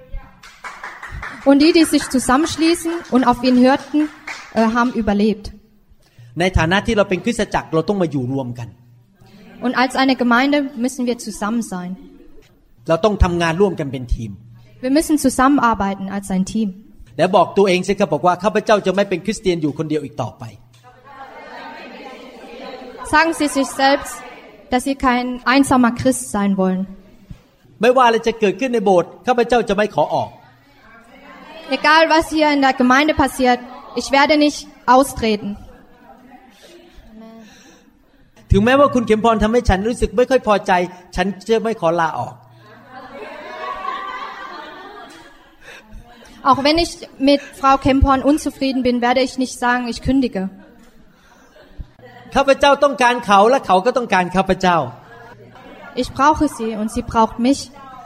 Und die, die sich zusammenschließen und auf ihn hörten, äh, haben überlebt. ในฐานะที่เราเป็นคริสตจักรเราต้องมาอยู่รวมกัน Und als eine Gemeinde müssen wir zusammen sein. เราต้องทำงานร่วมกันเป็นทีม Wir müssen zusammenarbeiten als ein Team. แล้วบอกตัวเองสิครับบอกว่าข้าพเจ้าจะไม่เป็นคริสเตียนอยู่คนเดียวอีกต่อไป Sagen Sie sich selbst, dass Sie kein einsamer Christ sein wollen. ไม่ว่าอะไรจะเกิดขึ้นในโบสถ์ข้าพเจ้าจะไม่ขอออก Egal was hier in der Gemeinde passiert, ich werde nicht austreten. ถึงแม้ว่าคุณเข็มพรทำให้ฉันรู้สึกไม่ค่อยพอใจฉันจะไม่ขอลาออก Auch wenn ich mit Frau Kempon unzufrieden bin, werde ich nicht sagen, ich kündige. ข้าพเจ้าต้องการเขาและเขาก็ต้องการข้าพเจ้า Ich brauche sie und sie braucht mich.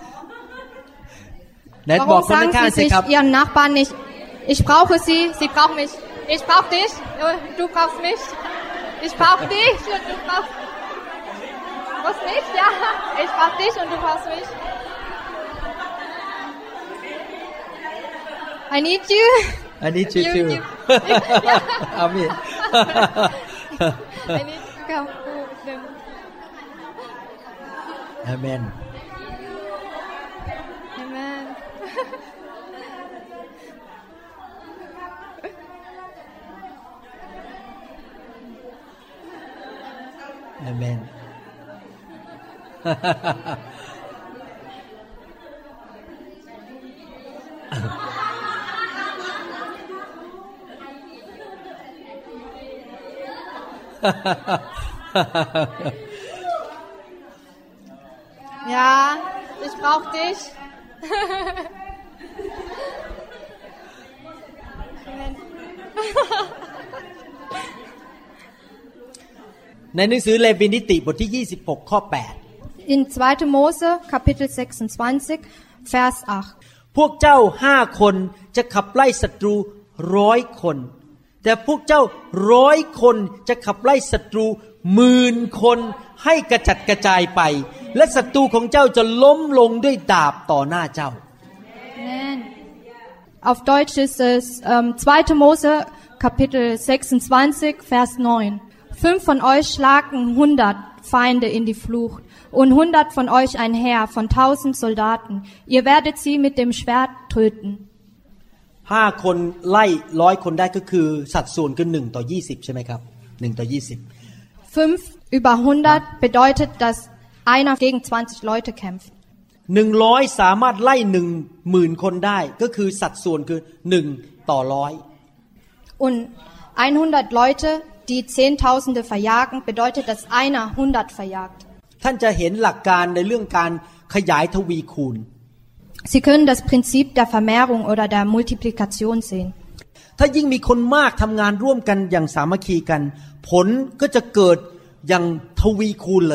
Warum sagen Sie sich Ihren Nachbarn nicht, ich brauche sie, sie braucht mich. Ich brauche dich, du brauchst mich. Ich brauche dich und du brauchst, du brauchst mich, ja. Ich brauche dich und du brauchst mich. I need you. I need you too. Amen. I need to come with them. Amen. Amen. Amen. Ja, ich brauch dich. ในหนังสือเลวีนิติบทที่ยี่สิบหกข้อแปด In zweiter Mose Kapitel sechsundzwanzig Vers acht พวกเจ้าห้าคนจะขับไล่ศัตรูร้อยคนแต่พวกเจ้าร้อยคนจะขับไล่ศัตรูหมื่นคนให้กระจัดกระจายไปและศัตรูของเจ้าจะล้มลงด้วยดาบต่อหน้าเจ้า Amen. Auf Deutsch ist es ähm, zweiter Mose Kapitel sechsundzwanzig Vers neun. Fünf von euch schlagen hundert Feinde in die Flucht und hundert von euch ein Heer von tausend Soldaten. Ihr werdet sie mit dem Schwert töten. ห้าคนไล่ร้อยคนได้ก็คือสัดส่วนคือหนึ่งต่อยี่สิบใช่ไหมครับหนึ่งต่อยี่สิบ Fünf über hundert bedeutet, dass einer gegen zwanzig Leute kämpft. หนึ่งร้อยสามารถไล่หนึ่งหมื่นคนได้ก็คือสัดส่วนคือหนึ่งต่อร้อย Und hundert Leute, die Zehntausende verjagen, bedeutet, dass einer hundert verjagt. ท่านจะเห็นหลักการในเรื่องการขยายทวีคูณ Sie können das Prinzip der Vermehrung oder der Multiplikation sehen. ถ้ายิ่งมีคนมากทำงานร่วมกันอย่างสามัคคีกันผลก็จะเกิดอย่างทวีคูณเลย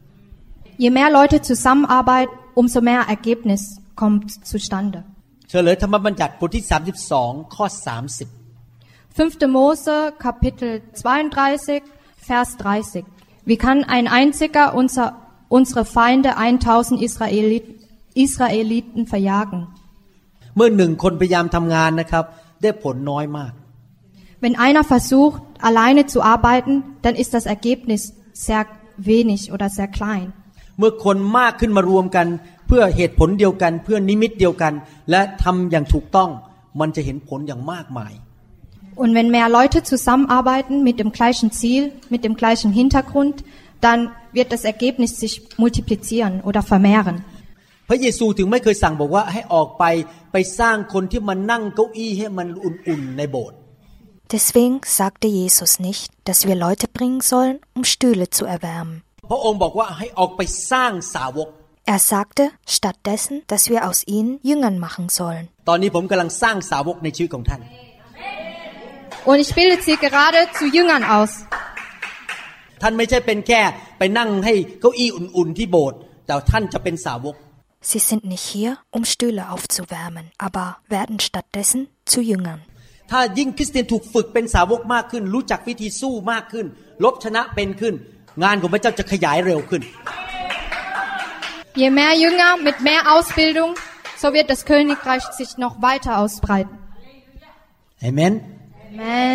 Je mehr Leute zusammenarbeiten, umso mehr Ergebnis kommt zustande. เฉลยธรรมบัญญัติบทที่สามสิบสองข้อสามสิบ Fünfte Mose Kapitel zweiunddreißig Vers dreißig. Wie kann ein einziger unser, unsere Feinde eintausend Israeliten, Israeliten verjagen? เมื่อหนึ่งคนพยายามทำงานนะครับได้ผลน้อยมาก Wenn einer versucht, alleine zu arbeiten, dann ist das Ergebnis sehr wenig oder sehr klein. เมื่อคนมากขึ้นมารวมกันเพื่อเหตุผลเดียวกันเพื่อนิมิตเดียวกันและทำอย่างถูกต้องมันจะเห็นผลอย่างมากมาย Und wenn mehr Leute zusammenarbeiten mit dem gleichen Ziel, mit dem gleichen Hintergrund, dann wird das Ergebnis sich multiplizieren oder vermehren. พระเยซูถึงไม่เคยสั่งบอกว่าให้ออกไปไปสร้างคนที่มานั่งเก้าอี้ให้มันอุ่นๆในโบสถ์ Deswegen sagte Jesus nicht, dass wir Leute bringen sollen, um Stühle zu erwärmen. พระองค์บอกว่าให้ออกไปสร้างสาวก Er sagte stattdessen, dass wir aus ihnen Jüngern machen sollen. ตอนนี้ผมกำลังสร้างสาวกในชีวิตของท่าน Und ich bilde sie gerade zu Jüngern aus. ท่านไม่ใช่เป็นแค่ไปนั่งให้เก้าอี้อุ่นๆที่โบสถ์แต่ท่านจะเป็นสาวก Sie sind nicht hier, um Stühle aufzuwärmen, aber werden stattdessen zu Jüngern. ถ้ายิ่งคริสเตียนถูกฝึกเป็นสาวกมากขึ้นรู้จักวิธีสู้มากขึ้นลบชนะเป็นขึ้นงานของพระเจ้าจะขยายเร็วขึ้น Je mehr Jünger mit mehr Ausbildung, so wird das Königreich sich noch weiter ausbreiten. Amen. Amen.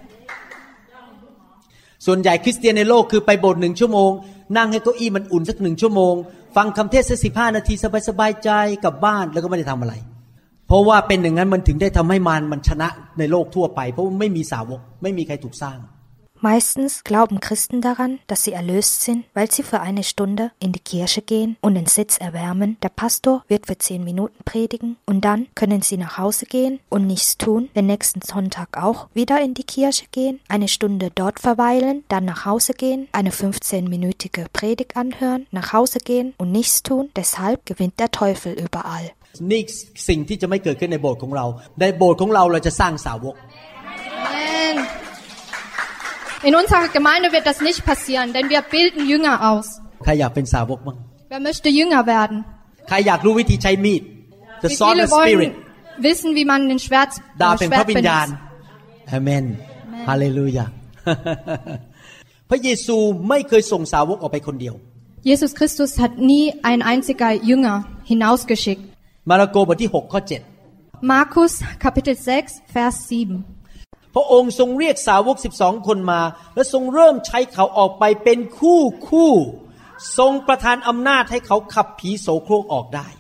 ส่วนใหญ่คริสเตียนในโลกคือไปโบสถ์หนึ่งชั่วโมงนั่งให้เก้าอี้มันอุ่นสักหนึ่งชั่วโมงฟังคำเทศน์สักสิบห้านาทีสบายๆใจกลับบ้านแล้วก็ไม่ได้ทำอะไรเพราะว่าเป็นอย่างนั้นมันถึงได้ทำให้มารมันชนะในโลกทั่วไปเพราะว่าไม่มีสาวกไม่มีใครถูกสร้าง Meistens glauben Christen daran, dass sie erlöst sind, weil sie für eine Stunde in die Kirche gehen und den Sitz erwärmen. Der Pastor wird für zehn Minuten predigen und dann können sie nach Hause gehen und nichts tun, den nächsten Sonntag auch wieder in die Kirche gehen, eine Stunde dort verweilen, dann nach Hause gehen, eine fünfzehnminütige Predigt anhören, nach Hause gehen und nichts tun. Deshalb gewinnt der Teufel überall. นี่สิ่งที่จะไม่เกิดขึ้นในโบสถ์ของเราในโบสถ์ของเราเราจะสร้างสาวก Amen. In unserer Gemeinde wird das nicht passieren, denn wir bilden Jünger aus. ใครอยากเป็นสาวกบ้าง Wer möchte Jünger werden? ใครอยากรู้วิธีใช้มีด The Wie sword viele of spirit wollen wissen, wie man den Schwert, ดาบ äh, แห่งพระ Schwert วิญญาณ benutzt? อาเมนฮาเลลูยา พระเยซูไม่เคยส่งสาวกออกไปคนเดียว Jesus Christus hat nie ein einziger Jünger hinausgeschickt. มาระโกบทที่หกข้อเจ็ด Markus Kapitel sechs Vers sieben. พระองค์ทรงเรียกสาวกสิบสองคนมาและทรงเริ่มใช้เขาออกไปเป็นคู่คู่ทรงประทานอำนาจให้เขาขับผีโสโครกออกได้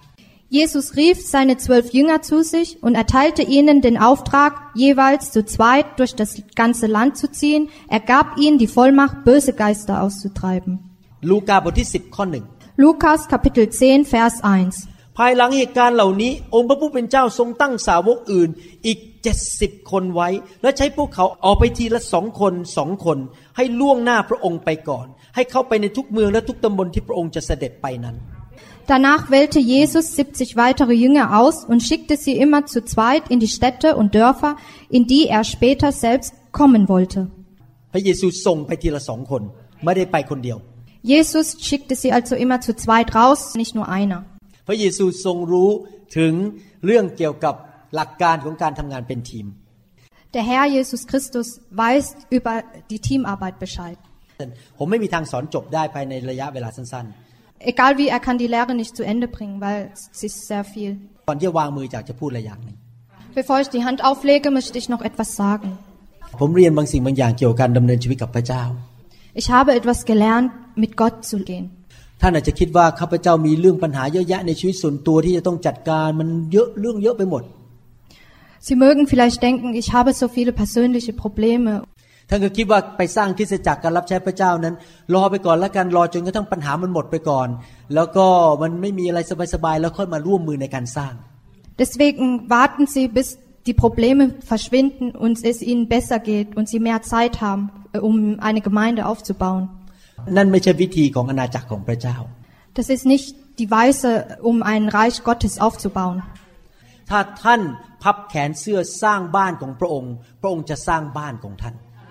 Jesus rief seine zwölf Jünger zu sich und erteilte ihnen den Auftrag, jeweils zu zweit durch das ganze Land zu ziehen. Er gab ihnen die Vollmacht, böse Geister auszutreiben. ลูกาบทที่สิบข้อหนึ่ง Lukas Kapitel zehn Vers eins. ภายหลังเหตุการณ์เหล่านี้องค์พระผู้เป็นเจ้าทรงตั้งสาวกอื่นอีกเจ็ดสิบคนไว้และใช้พวกเขาออกไปทีละสองคนสองคนให้ล่วงหน้าพระองค์ไปก่อนให้เข้าไปในทุกเมืองและทุกตำบลที่พระองค์จะเสด็จไปนั้น Danach wählte Jesus siebzig weitere Jünger aus und schickte sie immer zu zweit in die Städte und Dörfer, in die er später selbst kommen wollte. พระเยซูส่งไปทีละสองคนไม่ได้ไปคนเดียว Jesus schickte sie also immer zu zweit raus, nicht nur einer. พระเยซูทรงรู้ถึงเรื่องเกี่ยวกับหลักการของการทำงานเป็นทีม Der Herr Jesus Christus weiß über die Teamarbeit Bescheid. ผมไม่มีทางสอนจบได้ภายในระยะเวลาสั้นๆ Egal wie, er kann die Lehre nicht zu Ende bringen, weil es ist sehr viel. ก่อนที่จะวางมืออยากจะพูดอะไรอย่างหนึ่ง Bevor ich die Hand auflege, möchte ich noch etwas sagen. ผมเรียนบางสิ่งบางอย่างเกี่ยวกับการดำเนินชีวิตกับพระเจ้า Ich habe etwas gelernt, mit Gott zu gehen. ท่านอาจจะคิดว่าข้าพเจ้ามีเรื่องปัญหาเยอะแยะในชีวิตส่วนตัวที่จะต้องจัดการมันเยอะเรื่องเยอะไปหมด Sie mögen vielleicht denken, ich habe so viele persönliche Probleme. ท่านก็คิดว่าไปสร้างคริสตจักรการรับใช้พระเจ้านั้นรอไปก่อนแล้วกันรอจนกระทั่งปัญหามันหมดไปก่อนแล้วก็มันไม่มีอะไรสบายๆแล้วค่อยมาร่วมมือในการสร้าง Deswegen warten Sie, bis die Probleme verschwinden und es Ihnen besser geht und Sie mehr Zeit haben, um eine Gemeinde aufzubauen. นั่นไม่ใช่วิธีของอาณาจักรของพระเจ้า Das ist nicht die Weise, um ein Reich Gottes aufzubauen. ถ้าท่านพับแขนเสื้อสร้างบ้านของพระองค์พระองค์จะสร้างบ้านของท่าน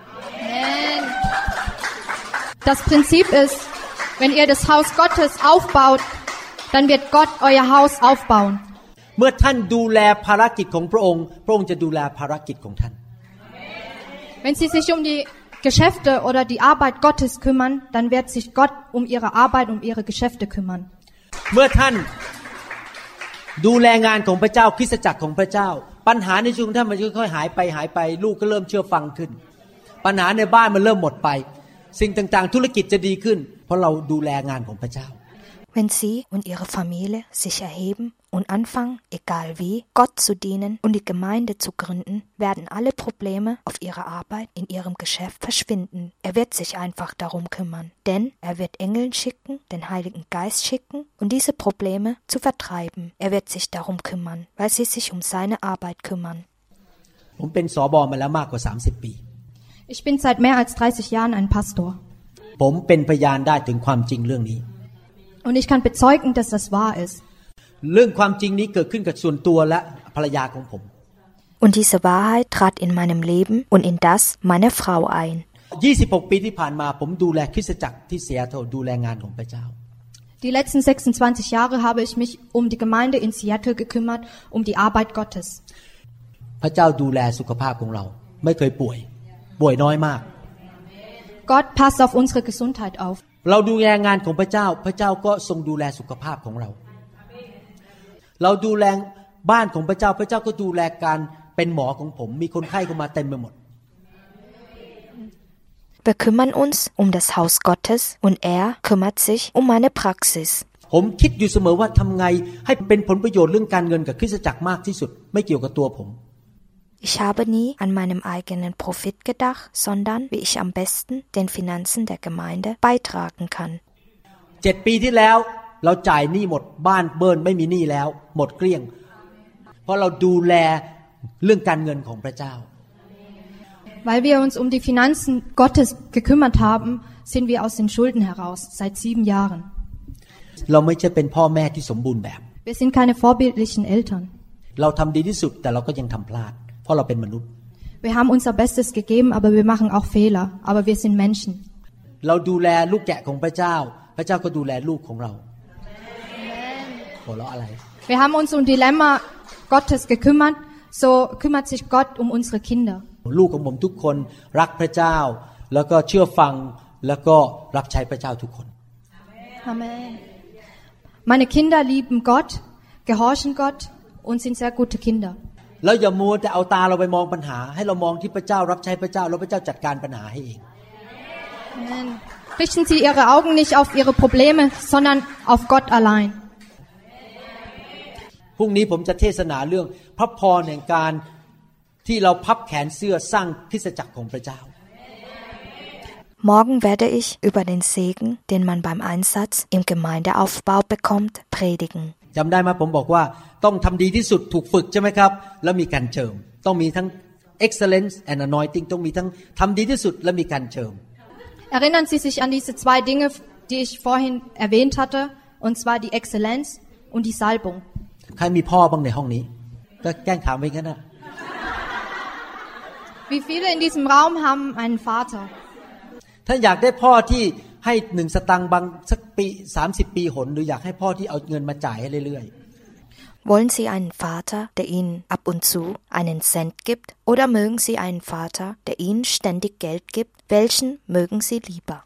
Das Prinzip ist, wenn ihr das Haus Gottes aufbaut, dann wird Gott euer Haus aufbauen. เมื่อท่านดูแลภารกิจของพระองค์พระองค์จะดูแลภารกิจของท่าน Wenn Sie sich um die Geschäfte oder die Arbeit Gottes kümmern, dann wird sich Gott um ihre Arbeit, um ihre Geschäfte kümmern. เมื่อท่านดูแลงานของพระเจ้าคริสตจักรของพระเจ้าปัญหาในชีวิตของท่านมันค่อยๆหายไปหายไปลูกก็เริ่มเชื่อฟังขึ้นปัญหาในบ้านมันเริ่มหมดไปสิ่งต่างๆธุรกิจจะดีขึ้นเพราะเราดูแลงานของพระเจ้า Wenn Sie und Ihre Familie sich erheben und anfangen, egal wie, Gott zu dienen und die Gemeinde zu gründen, werden alle Probleme auf Ihrer Arbeit, in Ihrem Geschäft verschwinden. Er wird sich einfach darum kümmern, denn er wird Engeln schicken, den Heiligen Geist schicken und diese Probleme zu vertreiben. Er wird sich darum kümmern, weil Sie sich um seine Arbeit kümmern. ผมเป็นสบมาแล้วมากกว่าสามสิบปี Ich bin seit mehr als dreißig Jahren ein Pastor. ผมเป็นพยานได้ถึงความจริงเรื่องนี้ Und ich kann bezeugen, dass das wahr ist. เรื่องความจริงนี้เกิดขึ้นกับส่วนตัวและภรรยาของผม Und diese Wahrheit trat in meinem Leben und in das meiner Frau ein. ยี่สิบหกปีที่ผ่านมาผมดูแลคริสตจักรที่ซีแอตเทิลดูแลงานของพระเจ้า Die letzten sechsundzwanzig Jahre habe ich mich um die Gemeinde in Seattle gekümmert, um die Arbeit Gottes. พระเจ้าดูแลสุขภาพของเราไม่เคยป่วยป่วยน้อยมาก Gott passt auf unsere Gesundheit auf. เราดูแลงานของพระเจ้าพระเจ้าก็ทรงดูแลสุขภาพของเราเราดูแลบ้านของพระเจ้าพระเจ้าก็ดูแลการเป็นหมอของผมมีคนไข้เข้ามาเต็มไปหมด Wir kümmern uns um das Haus Gottes und er kümmert sich um meine Praxis. ผมคิดอยู่เสมอว่าทำไงให้เป็นผลประโยชน์เรื่องการเงินกับคริสตจักรมากที่สุดไม่เกี่ยวกับตัวผม Ich habe nie an meinem eigenen Profit gedacht, sondern wie ich am besten den Finanzen der Gemeinde beitragen kann. เจ็ดปีที่แล้วเราจ่ายหนี้หมดบ้านเบิ้ลไม่มีหนี้แล้วหมดเกลี้ยงเพราะเราดูแลเรื่องการเงินของพระเจ้า Weil wir uns um die Finanzen Gottes gekümmert haben, sind wir aus den Schulden heraus seit sieben Jahren. เราไม่ใช่เป็นพ่อแม่ที่สมบูรณ์แบบ Wir sind keine vorbildlichen Eltern. เราทำดีที่สุดแต่เราก็ยังทำพลาดเพราะเราเป็นมนุษย์ Wir haben unser Bestes gegeben, aber wir machen auch Fehler. Aber wir sind Menschen. เราดูแลลูกแกะของพระเจ้าพระเจ้าก็ดูแลลูกของเราหัวเราะอะไร Wir haben uns um die Lämmer Gottes gekümmert, so kümmert sich Gott um unsere Kinder. ลูกของผมทุกคนรักพระเจ้าแล้วก็เชื่อฟังแล้วก็รับใช้พระเจ้าทุกคน Amen. Meine Kinder lieben Gott, gehorchen Gott und sind sehr gute Kinder. แล้วอย่ามัวแต่เอาตาเราไปมองปัญหาให้เรามองที่พระเจ้ารับใช้พระเจ้าแล้วพระเจ้าจัดการปัญหาให้เอง Amen. Richten Sie Ihre Augen nicht auf Ihre Probleme, sondern auf Gott allein. พรุ่งนี้ผมจะเทศนาเรื่องพระพรแห่งการที่เราพับแขนเสื้อสร้างคริสตจักรของพระเจ้า Morgen werde ich über den Segen, den man beim Einsatz im Gemeindeaufbau bekommt, predigen. จำได้ไหมผมบอกว่าต้องทำดีที่สุดถูกฝึกใช่ไหมครับแล้วมีการเจิมต้องมีทั้ง excellence and anointing ต้องมีทั้งทำดีที่สุดและมีการเจิม Erinnern Sie sich an diese zwei Dinge, die ich vorhin erwähnt hatte, und zwar die Exzellenz und die Salbung. ใครมีพ่อบ้างในห้องนี้ก็แกล้งถามไปงั้นนะ Wie viele in diesem Raum haben einen Vater? ถ้าอยากได้พ่อที่ให้หนึ่งสตังค์บางสักปีสามสิบปีหนหรืออยากให้พ่อที่เอาเงินมาจ่ายให้เรื่อยๆ Wollen Sie einen Vater, der Ihnen ab und zu einen Cent gibt, oder mögen Sie einen Vater, der Ihnen ständig Geld gibt? Welchen mögen Sie lieber?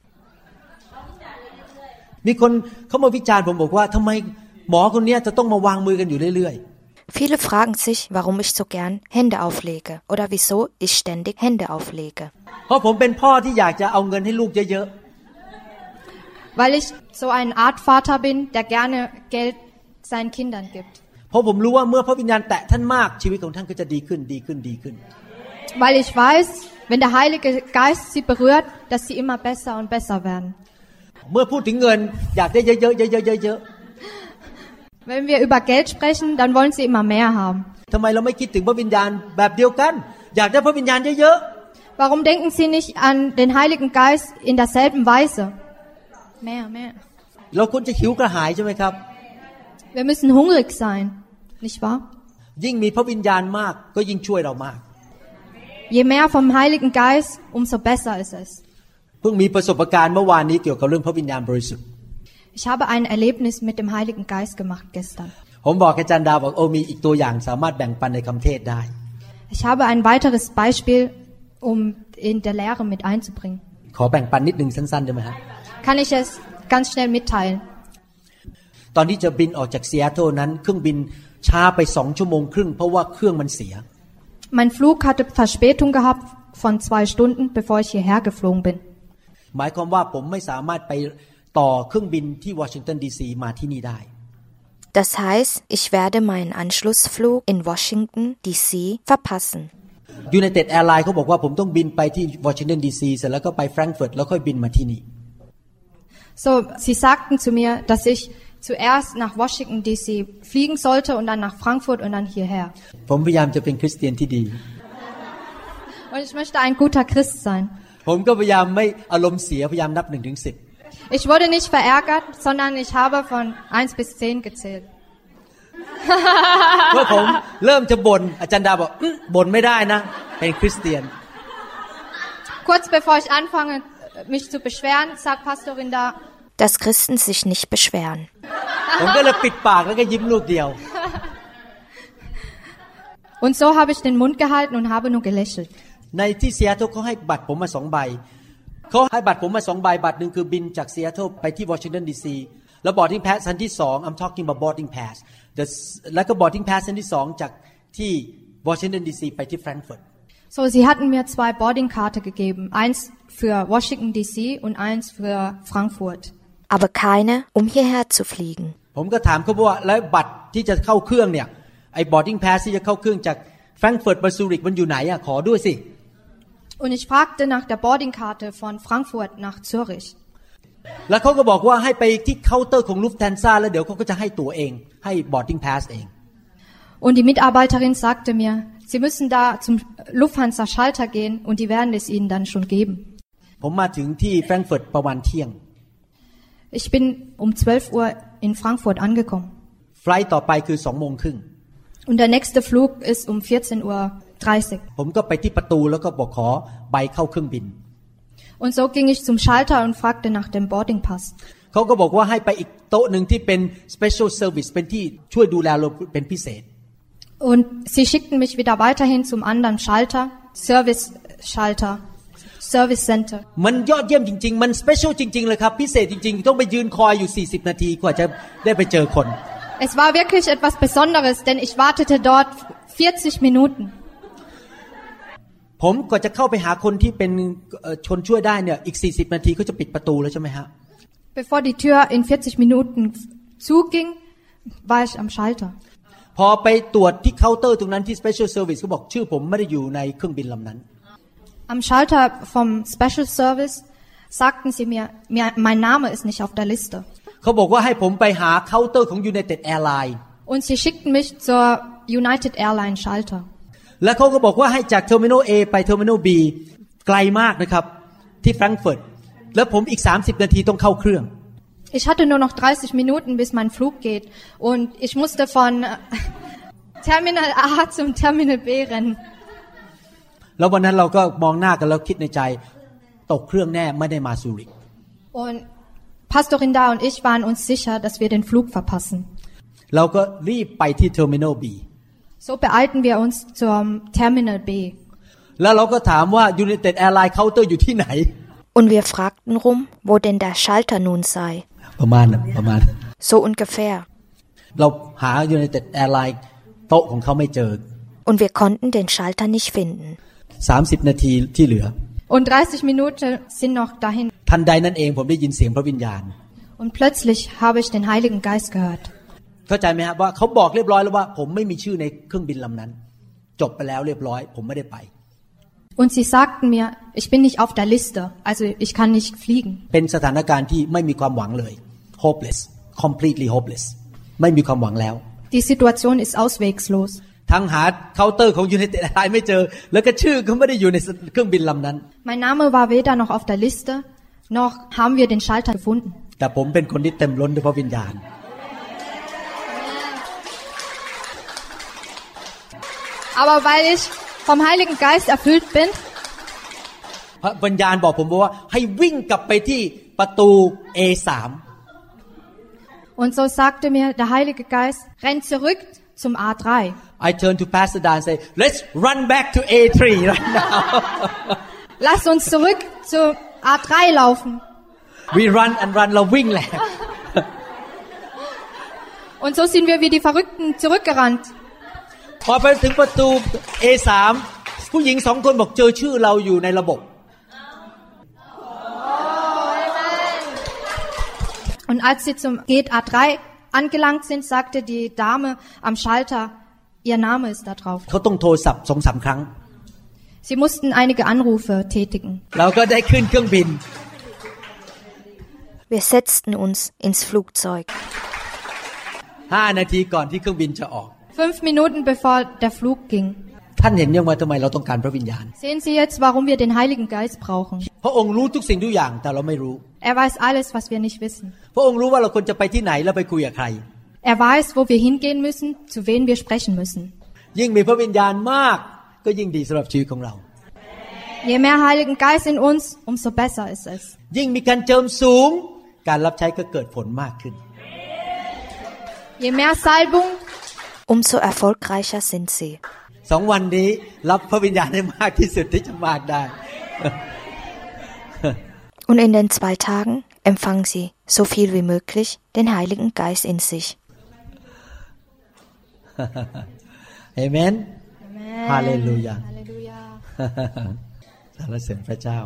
มีคนเขามาวิจารณ์ผมบอกว่าทำไมหมอคนนี้จะต้องมาวางมือกันอยู่เรื่อยๆ Viele fragen sich, warum ich so gern Hände auflege oder wieso ich ständig Hände auflege. เพราะผมเป็นพ่อที่อยากจะเอาเงินให้ลูกเยอะๆ Weil ich so eine Art Vater bin, der gerne Geld seinen Kindern gibt. เพราะผมรู้ว่าเมื่อพระวิญญาณแตะท่านมากชีวิตของท่านก็จะดีขึ้นดีขึ้นดีขึ้น Weil ich weiß, wenn der Heilige Geist sie berührt, dass sie immer besser und besser werden. เมื่อพูดถึงเงินอยากได้เยอะๆเยอะๆ Wenn wir über Geld sprechen, dann wollen sie immer mehr haben. ทำไมเราไม่คิดถึงพระวิญญาณแบบเดียวกันอยากได้พระวิญญาณเยอะๆ Warum denken sie nicht an den Heiligen Geist in derselben Weise? Mehr, mehr. เราควรจะหิวกระหายใช่ไหมครับ Wir müssen hungrig sein, nicht wahr? ยิ่งมีพระวิญญาณมากก็ยิ่งช่วยเรามาก Je mehr vom Heiligen Geist, umso besser ist es. เพิ่งมีประสบการณ์เมื่อวานนี้เกี่ยวกับเรื่องพระวิญญาณบริสุทธิ์ Ich habe ein Erlebnis mit dem Heiligen Geist gemacht gestern. ผมบอกอาจารย์ดาวบอกโอ้มีอีกตัวอย่างสามารถแบ่งปันในคำเทศได้ Ich habe ein weiteres Beispiel, um in der Lehre mit einzubringen. ขอแบ่งปันนิดนึงสั้นๆได้ไหมครับ Kann ich es ganz schnell mitteilen? ตอนที่จะบินออกจากซีแอตเทิลนั้นเครื่องบินช้าไปสองชั่วโมงครึ่งเพราะว่าเครื่องมันเสีย Mein Flug hatte Verspätung gehabt von zwei Stunden, bevor ich hierher geflogen bin. หมายความว่าผมไม่สามารถไปต่อเครื่องบินที่วอชิงตันดีซีมาที่นี่ได้ Das heißt, ich werde meinen Anschlussflug in Washington D C verpassen. United Airlines เขาบอกว่าผมต้องบินไปที่วอชิงตันดีซีเสร็จแล้วก็ไปแฟรงก์เฟิร์ตแล้วค่อยบินมาที่นี่ So, sie sagten zu mir, dass ich zuerst nach Washington D C fliegen sollte und dann nach Frankfurt und dann hierher. ผมพยายามจะเป็นคริสเตียนที่ดี Und ich möchte ein guter Christ sein. ผมก็พยายามไม่อารมณ์เสียพยายามนับหนึ่งถึงสิบ Ich wurde nicht verärgert, sondern ich habe von eins bis zehn gezählt. เมื่อผมเริ่มจะบ่นอาจารย์ดาบอกบ่นไม่ได้นะเป็นคริสเตียน Kurz bevor ich anfange, mich zu beschweren, sagt Pastorin da, dass Christen sich nicht beschweren. ผมก็เลยปิดปากแล้วก็ยิ้มลูกเดียว Und so habe ich den Mund gehalten und habe nur gelächelt. ในที่ซีแอตเทิลเขาให้บัตรผมมาสองใบเขาให้บัตรผมมาสองใบบัตรหนึ่งคือบินจากซีแอตเทิลไปที่วอชิงตันดีซีแล้ว boarding pass อันที่สอง I'm talking about boarding pass แล้วก็ boarding pass อันที่สองจากที่วอชิงตันดีซีไปที่แฟรงก์เฟิร์ต So, sie hatten mir zwei Boardingkarte gegeben, eins für Washington D C und eins für Frankfurt. Aber keine, um hierher zu fliegen. ผมก็ถามเขาว่าแล้วบัตรที่จะเข้าเครื่องเนี่ยไอ้ boarding pass ที่จะเข้าเครื่องจากแฟรงก์เฟิร์ตไปซูริกมันอยู่ไหนอ่ะขอด้วยสิ Und ich fragte nach der Boardingkarte von Frankfurt nach Zürich. แล้วเขาก็บอกว่าให้ไปที่เคาน์เตอร์ของลูฟแทนซ่าแล้วเดี๋ยวเขาก็จะให้ตั๋วเองให้ boarding pass เอง Und die Mitarbeiterin sagte mir, Sie müssen da zum Lufthansa Schalter gehen und die werden es Ihnen dann schon geben. ผมมาถึงที่แฟรงก์เฟิร์ตประมาณเที่ยง Ich bin um zwölf Uhr in Frankfurt angekommen. ไฟลท์ต่อไปคือสองโมงครึ่ง Und der nächste Flug ist um vierzehn Uhr dreißig. ผมก็ไปที่ประตูแล้วก็บอกขอใบเข้าเครื่องบิน Und so ging ich zum Schalter und fragte nach dem Boardingpass. เขาก็บอกว่าให้ไปอีกโต๊ะหนึ่งที่เป็น special service เป็นที่ช่วยดูแลเราเป็นพิเศษ Und sie schickten mich wieder weiterhin zum anderen Schalter, Service Schalter, Service Center. มันยอดเยี่ยมจริงๆมัน special จริงๆเลยครับพิเศษจริงๆต้องไปยืนคอยอยู่สี่สิบนาทีกว่าจะได้ไปเจอคน Es war wirklich etwas Besonderes, denn ich wartete dort vierzig Minuten. ผมก็จะเข้าไปหาคนที่เป็นชนช่วยได้เนี่ยอีกสี่สิบนาทีเขาจะปิดประตูแล้วใช่ไหมฮะ Bevor die Tür in vierzig Minuten zuging, war ich am Schalter. พอไปตรวจที่เคาน์เตอร์ตรงนั้นที่ Special Service เขาบอกชื่อผมไม่ได้อยู่ในเครื่องบินลำนั้น Am Schalter vom Special Service sagten sie mir, mir mein Name ist nicht auf der Liste. เขาบอกว่าให้ผมไปหาเคาน์เตอร์ของ United Airlines Und sie schickten mich zur United Airlines Schalter. แล้วเขาก็บอกว่าให้จาก Terminal A ไป Terminal B ไกลมากนะครับที่แฟรงก์เฟิร์ตแล้วผมอีกสามสิบนาทีต้องเข้าเครื่อง Ich hatte nur noch dreißig Minuten, bis mein Flug geht, und ich musste von Terminal A zum Terminal B rennen. แล้ววันนั้นเราก็มองหน้ากันแล้วคิดในใจตกเครื่องแน่ไม่ได้มาซูริก Und Pastorin Da und ich waren uns sicher, dass wir den Flug verpassen. เราก็รีบไปที่ Terminal B. So beeilten wir uns zum Terminal B. แล้วเราก็ถามว่า United Airlines Counter อยู่ที่ไหน Und wir fragten rum, wo denn der Schalter nun sei. ประมาณประมาณ So ungefähr. เราหา United Airlines โต๊ะของเขาไม่เจอ Und wir konnten den Schalter nicht finden. สามสิบนาทีที่เหลือ Und dreißig Minuten sind noch dahin. ทันใดนั้นเองผมได้ยินเสียงพระวิญญาณ Und plötzlich habe ich den Heiligen Geist gehört. เข้าใจไหมครับว่าเขาบอกเรียบร้อยแล้วว่าผมไม่มีชื่อในเครื่องบินลำนั้นจบไปแล้วเรียบร้อยผมไม่ได้ไป Und sie sagten mir, ich bin nicht auf der Liste, also ich kann nicht fliegen. เป็นสถานการณ์ที่ไม่มีความหวังเลย hopeless completely hopeless ไม่มีความหวังแล้ว Die Situation ist auswegslos. ทั้งหาเคาน์เตอร์ของ United Airlines ไม่เจอแล้วก็ชื่อก็ไม่ได้อยู่ในเครื่องบินลำนั้น Mein Name war weder noch auf der Liste, noch haben wir den Schalter gefunden. แต่ผมเป็นคนที่เต็มล้นด้วยพระวิญญาณ Aber weil ich vom Heiligen Geist erfüllt bin, พระวิญญาณบอกผมว่าให้วิ่งกลับไปที่ประตู เอ สาม und so sagte mir der Heilige Geist, renn zurück zum A drei. I turn to Pastor Dan and say let's run back to เอ three right now Lass uns zurück zu A drei laufen. we run and run เราวิ่งแหละ Und so sind wir wie die Verrückten zurückgerannt. พอไปถึงประตู เอ สาม ผู้หญิงสองคนบอกเจอชื่อเราอยู่ในระบบ Und als sie zum Gate A drei angelangt sind, sagte die Dame am Schalter, ihr Name ist da drauf. เขาต้องโทรศัพท์ สองสาม ครั้ง Sie mussten einige Anrufe tätigen. เราก็ได้ขึ้นเครื่องบิน Wir setzten uns ins Flugzeug. ห้า นาทีก่อนที่เครื่องบินจะออก Fünf Minuten bevor der Flug ging. ท่านเห็นยังว่าทำไมเราต้องการพระวิญญาณ Sehen Sie jetzt, warum wir den Heiligen Geist brauchen? พระองค์รู้ทุกสิ่งทุกอย่างแต่เราไม่รู้ Er weiß alles, was wir nicht wissen. พระองค์รู้ว่าเราควรจะไปที่ไหนแล้วไปคุยกับใคร Er weiß, wo wir hingehen müssen, zu wem wir sprechen müssen. ยิ่งมีพระวิญญาณมากก็ยิ่งดีสำหรับชีวิตของเรา Je mehr Heiligen Geist in uns, umso besser ist es. ยิ่งมีการเจิมสูงการรับใช้ก็เกิดผลมากขึ้น Je mehr Salbung, umso erfolgreicher sind sie. สองวันนี้รับพระวิญญาณให้มากที่สุดที่จะมากได้ Und in den zwei Tagen empfangen sie so viel wie möglich den Heiligen Geist in sich. Amen. Amen. Halleluja. Halleluja. สรรเสริญพระเจ้า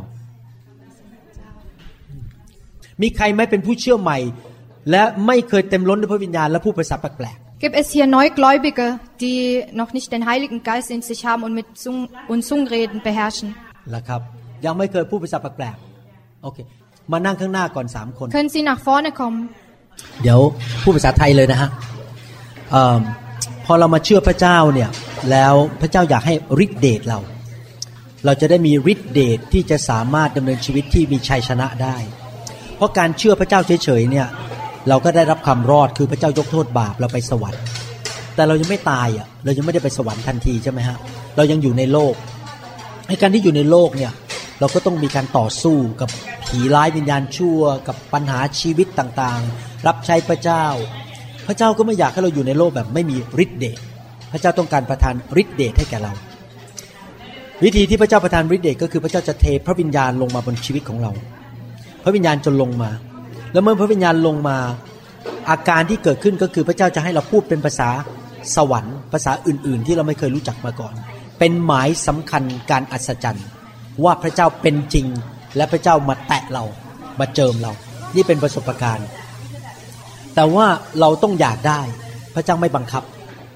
มีใครไม่เป็นผู้เชื่อใหม่และไม่เคยเต็มล้นด้วยพระวิญญาณและพูดภาษาแปลก Gibt es hier Neugläubige, die noch nicht den Heiligen Geist in sich haben und mit Zung- und Zungenreden beherrschen? ๆล่ะครับยังไม่เคยพูดภาษาแปลกๆโอเคมานั่งข้างหน้าก่อนสามคน Können Sie nach vorne kommen? เดี๋ยวพูดภาษาไทยเลยนะฮะเอ่อพอเรามาเชื่อพระเจ้าเนี่ยแล้วพระเจ้าอยากให้ฤทธิ์เดชเราเราจะได้มีฤทธิ์เดชที่จะสามารถดำเนินชีวิตที่มีชัยชนะได้เพราะการเชื่อพระเจ้าเฉยๆเนี่ยเราก็ได้รับความรอดคือพระเจ้ายกโทษบาปเราไปสวรรค์แต่เรายังไม่ตายอ่ะเรายังไม่ได้ไปสวรรค์ทันทีใช่ไหมฮะเรายังอยู่ในโลกในการที่อยู่ในโลกเนี่ยเราก็ต้องมีการต่อสู้กับผีร้ายวิญญาณชั่วกับปัญหาชีวิตต่างๆรับใช้พระเจ้าพระเจ้าก็ไม่อยากให้เราอยู่ในโลกแบบไม่มีฤทธิ์เดชพระเจ้าต้องการประทานฤทธิ์เดชให้แก่เราวิธีที่พระเจ้าประทานฤทธิ์เดชก็คือพระเจ้าจะเทพระวิญญาณลงมาบนชีวิตของเราพระวิญญาณจะลงมาแล้วเมื่อพระวิญญาณลงมาอาการที่เกิดขึ้นก็คือพระเจ้าจะให้เราพูดเป็นภาษาสวรรค์ภาษาอื่นๆที่เราไม่เคยรู้จักมาก่อนเป็นหมายสำคัญการอัศจรรย์ว่าพระเจ้าเป็นจริงและพระเจ้ามาแตะเรามาเจิมเรานี่เป็นประสบการณ์แต่ว่าเราต้องอยากได้พระเจ้าไม่บังคับ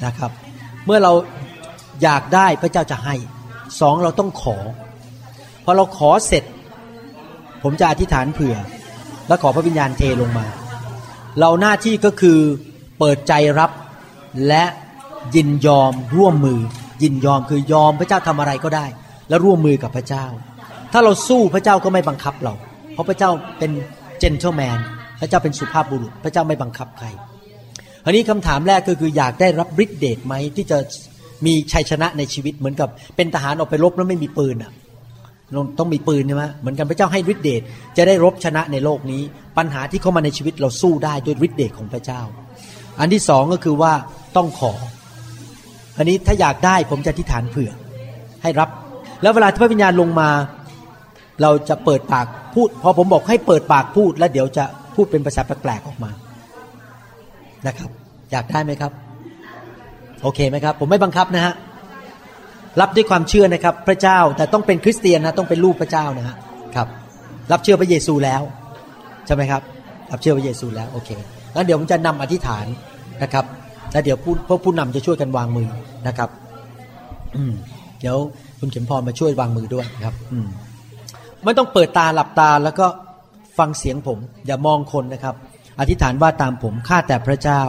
นะครับเมื่อเราอยากได้พระเจ้าจะให้สองเราต้องขอพอเราขอเสร็จผมจะอธิษฐานเผื่อแล้วขอพระวิญญาณเทลงมาเราหน้าที่ก็คือเปิดใจรับและยินยอมร่วมมือยินยอมคือยอมพระเจ้าทำอะไรก็ได้และร่วมมือกับพระเจ้าถ้าเราสู้พระเจ้าก็ไม่บังคับเราเพราะพระเจ้าเป็นเจนเทิลแมนพระเจ้าเป็นสุภาพบุรุษพระเจ้าไม่บังคับใครอันนี้คำถามแรกก็คืออยากได้รับฤทธิ์เดชไหมที่จะมีชัยชนะในชีวิตเหมือนกับเป็นทหารออกไปรบแล้วไม่มีปืนอ่ะต้องมีปืนใช่ไหมเหมือนกันพระเจ้าให้ฤทธิ์เดชจะได้รบชนะในโลกนี้ปัญหาที่เข้ามาในชีวิตเราสู้ได้ด้วยฤทธิ์เดชของพระเจ้าอันที่สองก็คือว่าต้องขออันนี้ถ้าอยากได้ผมจะอธิษฐานเผื่อให้รับแล้วเวลาที่พระวิญญาณลงมาเราจะเปิดปากพูดพอผมบอกให้เปิดปากพูดแล้วเดี๋ยวจะพูดเป็นภาษาแปลกๆออกมานะครับอยากได้ไหมครับโอเคไหมครับผมไม่บังคับนะฮะรับด้วยความเชื่อนะครับพระเจ้าแต่ต้องเป็นคริสเตียนนะต้องเป็นลูกพระเจ้านะฮะครับรับเชื่อพระเยซูแล้วใช่ไหมครับรับเชื่อพระเยซูแล้วโอเคงั้นเดี๋ยวผมจะนำอธิษฐานนะครับแล้วเดี๋ยวผู้พวกผู้นำจะช่วยกันวางมือนะครับอืมเดี๋ยวคุณเข็มพรมาช่วยวางมือด้วยครับอืมไม่ต้องเปิดตาหลับตาแล้วก็ฟังเสียงผมอย่ามองคนนะครับอธิษฐานว่าตามผมข้าแต่พระเจ้า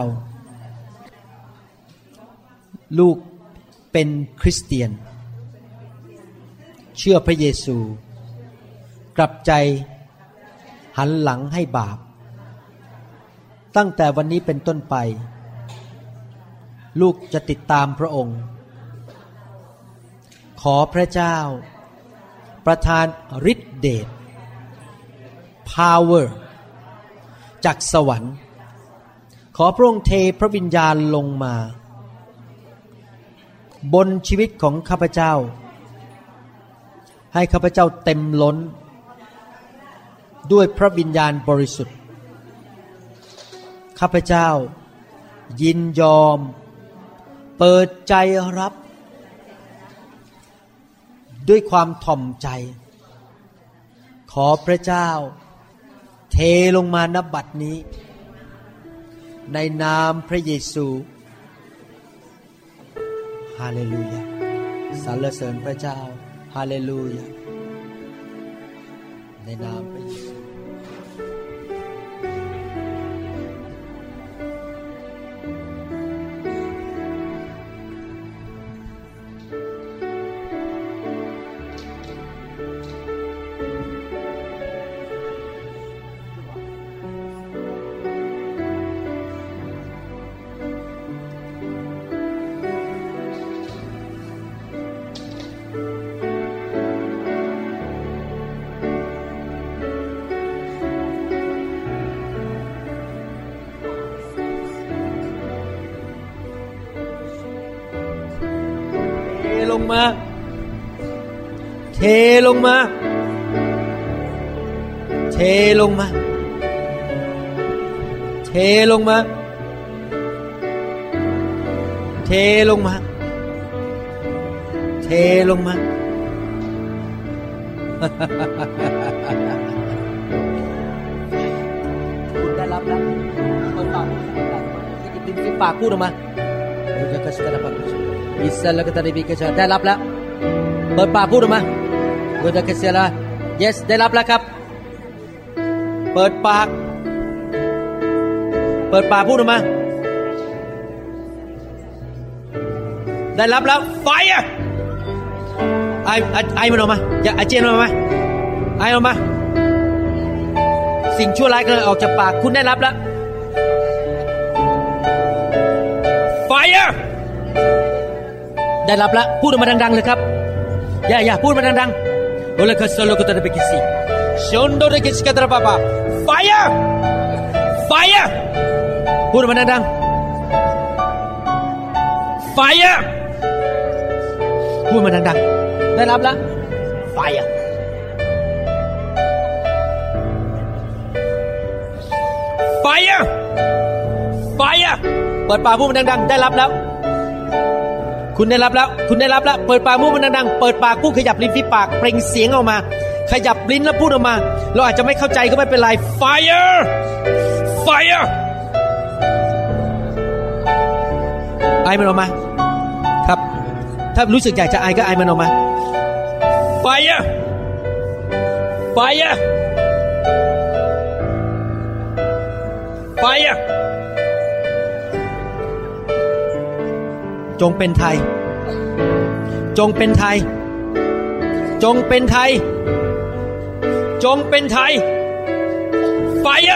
ลูกเป็นคริสเตียนเชื่อพระเยซูกลับใจหันหลังให้บาปตั้งแต่วันนี้เป็นต้นไปลูกจะติดตามพระองค์ขอพระเจ้าประทานฤทธิ์เดช power จากสวรรค์ขอพระองค์เทพระวิญญาณลงมาบนชีวิตของข้าพเจ้าให้ข้าพเจ้าเต็มล้นด้วยพระวิญญาณบริสุทธิ์ข้าพเจ้ายินยอมเปิดใจรับด้วยความถ่อมใจขอพระเจ้าเทลงมาณบัดนี้ในนามพระเยซูฮาเลลูยาสรรเสริญพระเจ้าฮาเลลูยาในนามพระเยซูลงมาเทลงมาเทลงมาเทลงมาเทลงมาเทลงมาคุณได้รับแล้วเปิดปากที่ติดปากพูดออกมาคุณจะกระซิบอะไรบ้างอิสระก็ตะริบิกะชาได้รับแล้วเปิดปากพูดออกมากุดะกะเซลา yes ได้รับแล้วครับเปิดปากเปิดปากพูดออกมาได้รับแล้ว fire ไอไอไอมันออกมาอย่าอาเจียนออกมาไอออกมาสิ่งชั่วร้ายก็ออกจากปากคุณได้รับแล้ว fireได้รับแล้วพูดออกมาดังๆเลยครับอย่าอย่าพูดมาดังๆโอเลคัสโลกุตะเบกิซิชอนโดเรกิสกะตระปาปา fire fire พูดออกมาดังๆ fire พูดมาดังๆได้รับแล้ว fire fire fire เปิดปากพูดมาดังๆได้รับแล้วคุณได้รับแล้วคุณได้รับแล้วเปิดปากพูดมันดังๆเปิดปากพูดขยับลิ้นที่ปากเปล่งเสียงออกมาขยับลิ้นแล้วพูดออกมาเราอาจจะไม่เข้าใจก็ไม่เป็นไร fire fire ไอมันออกมาครับถ้ารู้สึกอยากจะไอก็ไอมันออกมา Fire Fire Fire จงเป็นไทยจงเป็นไทยจงเป็นไทยจงเป็นไทย Fire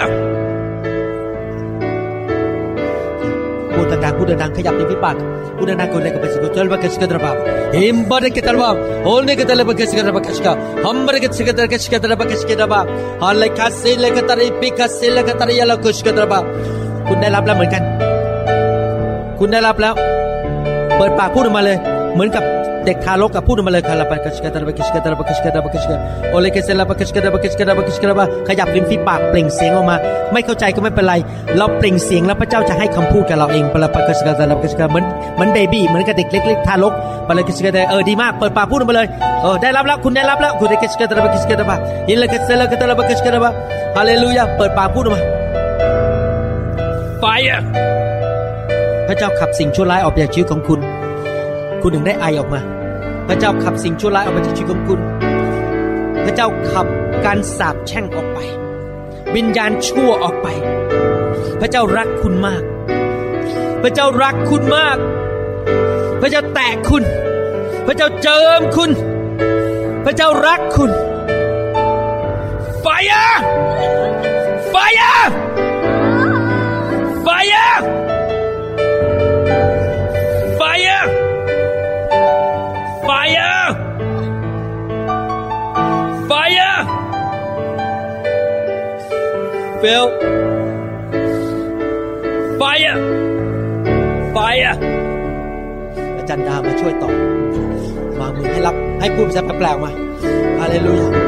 พูดดังๆพูดดังๆขยับในฝีปากพูดดังๆคนเลยกับเป็นสิ่งที่เราบักสิกระบาหิมบาร์เกตระบาโอเลกตระบักสิกระบักสิกาฮัมบาร์เกตสิกระบักสิกระบักสิกระบาฮัลเลคัสเซเลกตระปิคัสเซเลกตระยาลกุสกระบาคุณได้รับแล้วเหมือนกันคุณได้รับแล้วเปิดปากพูดออกมาเลยเหมือนกับเด็กทารกกับพูดออกมาเลยคาราบักสิกระบักสิกระบักสิกระบักสิกาโอเลกเซเลบักสิกระบักสิกระบักสิกระบาขยับริมฝีปากเปล่งเสียงออกมาไม่เข้าใจก็ไม่เป็นไรเราเปล่งเสียงแล้วพระเจ้าจะให้คำพูดกับเราเองปะละปะกะสกะตะละปะกะสกะเหมือนเหมือนเบบี้เหมือนกับเด็กเล็กๆทารกปะละกะสกะเออดีมากเปิดปากพูดออกมาเลยเออได้รับแล้วคุณได้รับแล้วคุณได้กะสกะตะละปะกะสกะตะบะยินละกะสละกะตะละปะกะสกะตะบะฮาเลลูยาเปิดปากพูดออกมา Fire พระเจ้าขับสิ่งชั่วร้ายออกจากชีวิตของคุณคุณถึงได้ไอออกมาพระเจ้าขับสิ่งชั่วร้ายออกมาจากชีวิตของคุณพระเจ้าขับการสาปแช่งออกไปวิญญาณชั่วออกไปพระเจ้ารักคุณมากพระเจ้ารักคุณมากพระเจ้าแตะคุณพระเจ้าเจิมคุณพระเจ้ารักคุณ Fire Fire Fire Fire Fire Fire Phil Fire Fire อาจารย์ดามาช่วยต่อวางมือให้รับให้พูดภาษาแปลกๆมาฮาเลลูยา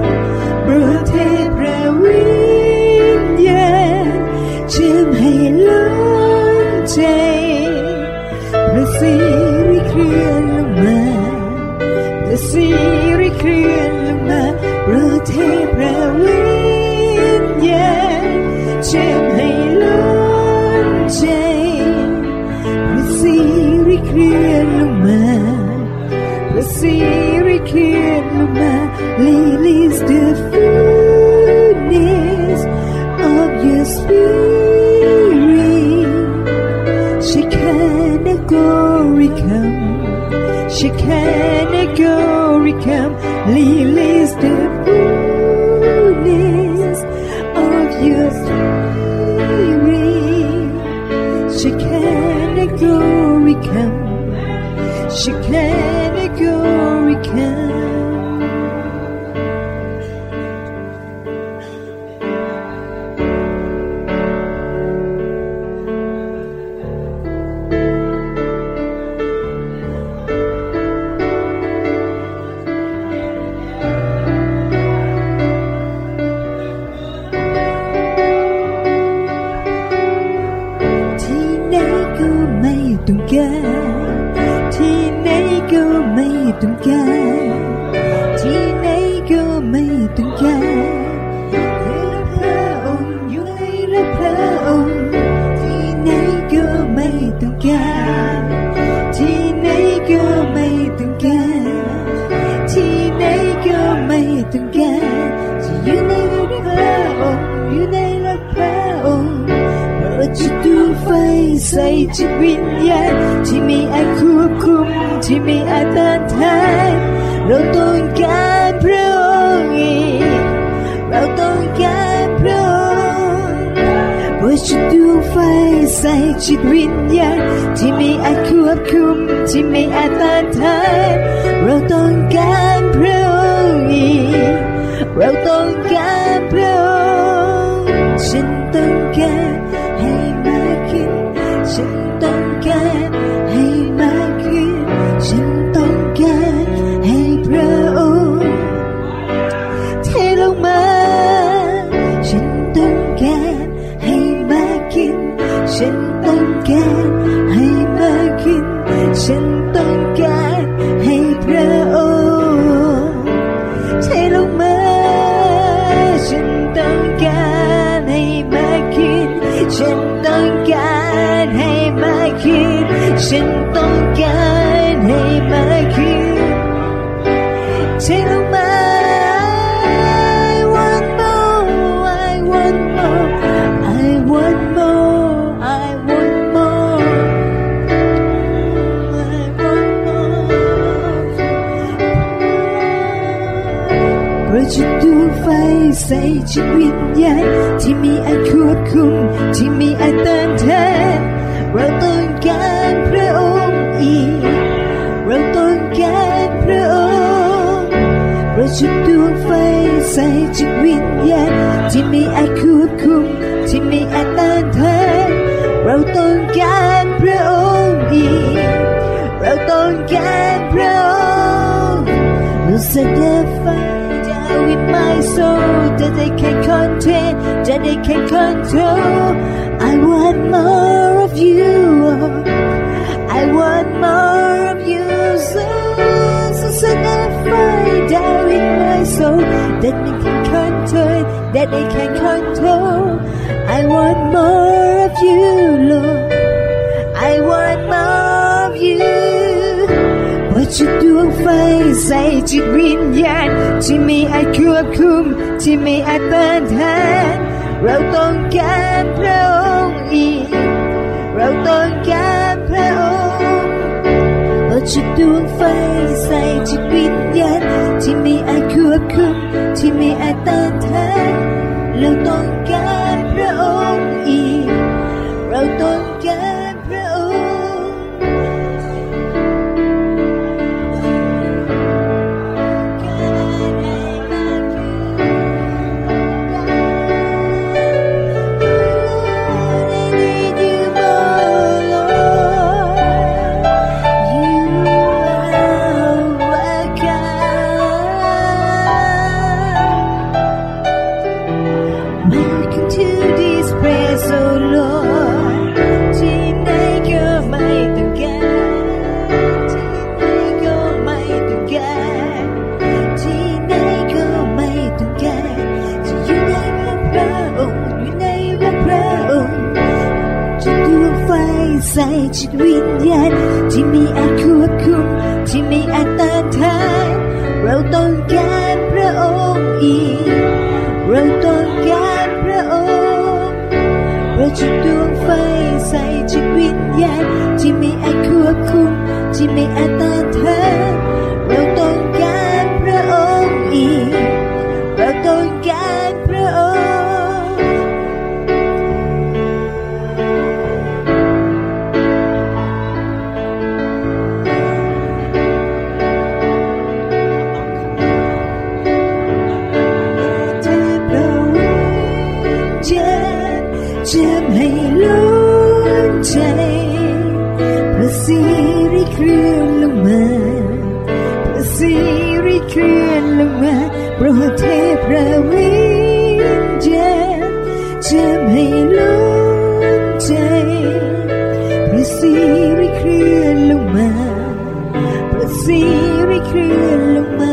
Hello เจ็บให้ล้นใจพระสิริเคลื่อนลงมาพระสิริเคลื่อนลงมา Release the fullness of your spirit Shekinah glory come Shekinah glory come Release the fullness of your spirit Shekinah glory come Shekinah glory comeที่ไหนก็ไม่ต้องการที่ไหนก็ไม่ต้องการพระองค์อยู่ในรักพระองค์ที่ไหนก็ไม่ต้องการที่ไหนก็ไม่ต้องการที่ไหนก็ไม่ต้องการจะอยู่ในรักพระองค์อยู่ในรักพระองค์จุดดวงไฟใส่จิตวิญญาณที่ไม่อาจควบคุมที่ไม่อาจต้านทานเราต้องการพระองค์อีกเราต้องการพระองค์บนจุดดวงไฟใส่จิตวิญญาณที่ไม่อาจควบคุมที่ไม่อาจต้านทานเราต้องการพระองค์อีกเราต้องการพระองค์ฉันต้องการให้มากขึ้นฉันต้องการให้มากขึ้นฉันต้องการให้พระองค์เทลงมาฉันต้องการให้มากขึ้นฉันต้องการให้มากขึ้นฉันต้องการให้พระองค์เทลงมาฉันต้องการให้มากขึ้นฉันต้องการให้มากขึ้นฉันต้องการให้มากขึ้นเทลงมา I want more I want more I want more I want more I want more ประจุดวงไฟใส่จิตวิญญาณที่มีอาจควบคุมที่มีอาจต้านทานเราต้องการพระองค์อีกเราต้องการพระองค์ประจุดวงไฟใส่จิตวิญญาณที่มีอาจควบคุมที่มีอาจต้านทานเราต้องการพระองค์อีกเราต้องการพระองค์เราแสดงไฟwith my soul that they can contain, that they can control. I want more of you. I want more of you. So, so set that fire down in my soul that they can control, that they can control. I want more of you, Lord. I want more of you.จุดดวงไฟใส่จิตวิญญาณที่ไม่อาจควบคุมที่ไม่อาจต้านทานเราต้องการพระองค์อีกเราต้องการพระองค์จุดดวงไฟใส่จิตวิญญาณที่ไม่อาจควบคุมที่ไม่อาจต้านทานเราต้องการพระองค์อีกเราต้องการพระองค์มใส่จิตวิญญาณที่ไม่อาจควบคุมที่ไม่อาจต้านทานเราต้องการพระองค์อีกเราต้องการพระองค์เราจุดดวงไฟใส่จิตวิญญาณที่ไม่อาจควบคุมที่ไม่อาจต้านทานเราต้องการพระองค์อีกเราต้องการพระองค์จะให้ล้นใจพระสิริเคลื่อนลงมาพระสิริเคลื่อนลงมาโปรดเทพระวิญญาณจะให้ล้นใจพระสิริเคลื่อนลงมาพระสิริเคลื่อนลงมา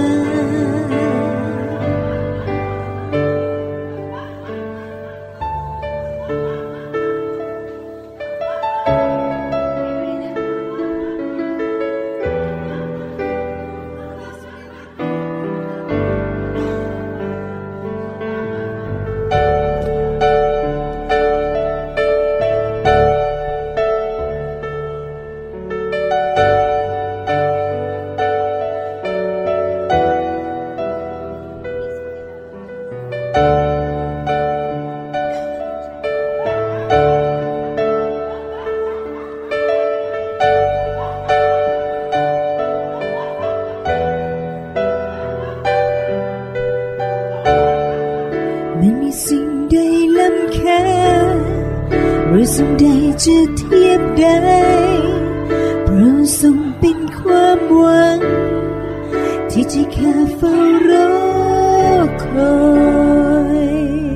ไม่มีสิ่งใดล้ำค่าหรือสิ่งใดจะเทียบได้เพราะทรงเป็นความหวังที่ใจข้าเฝ้ารอคอย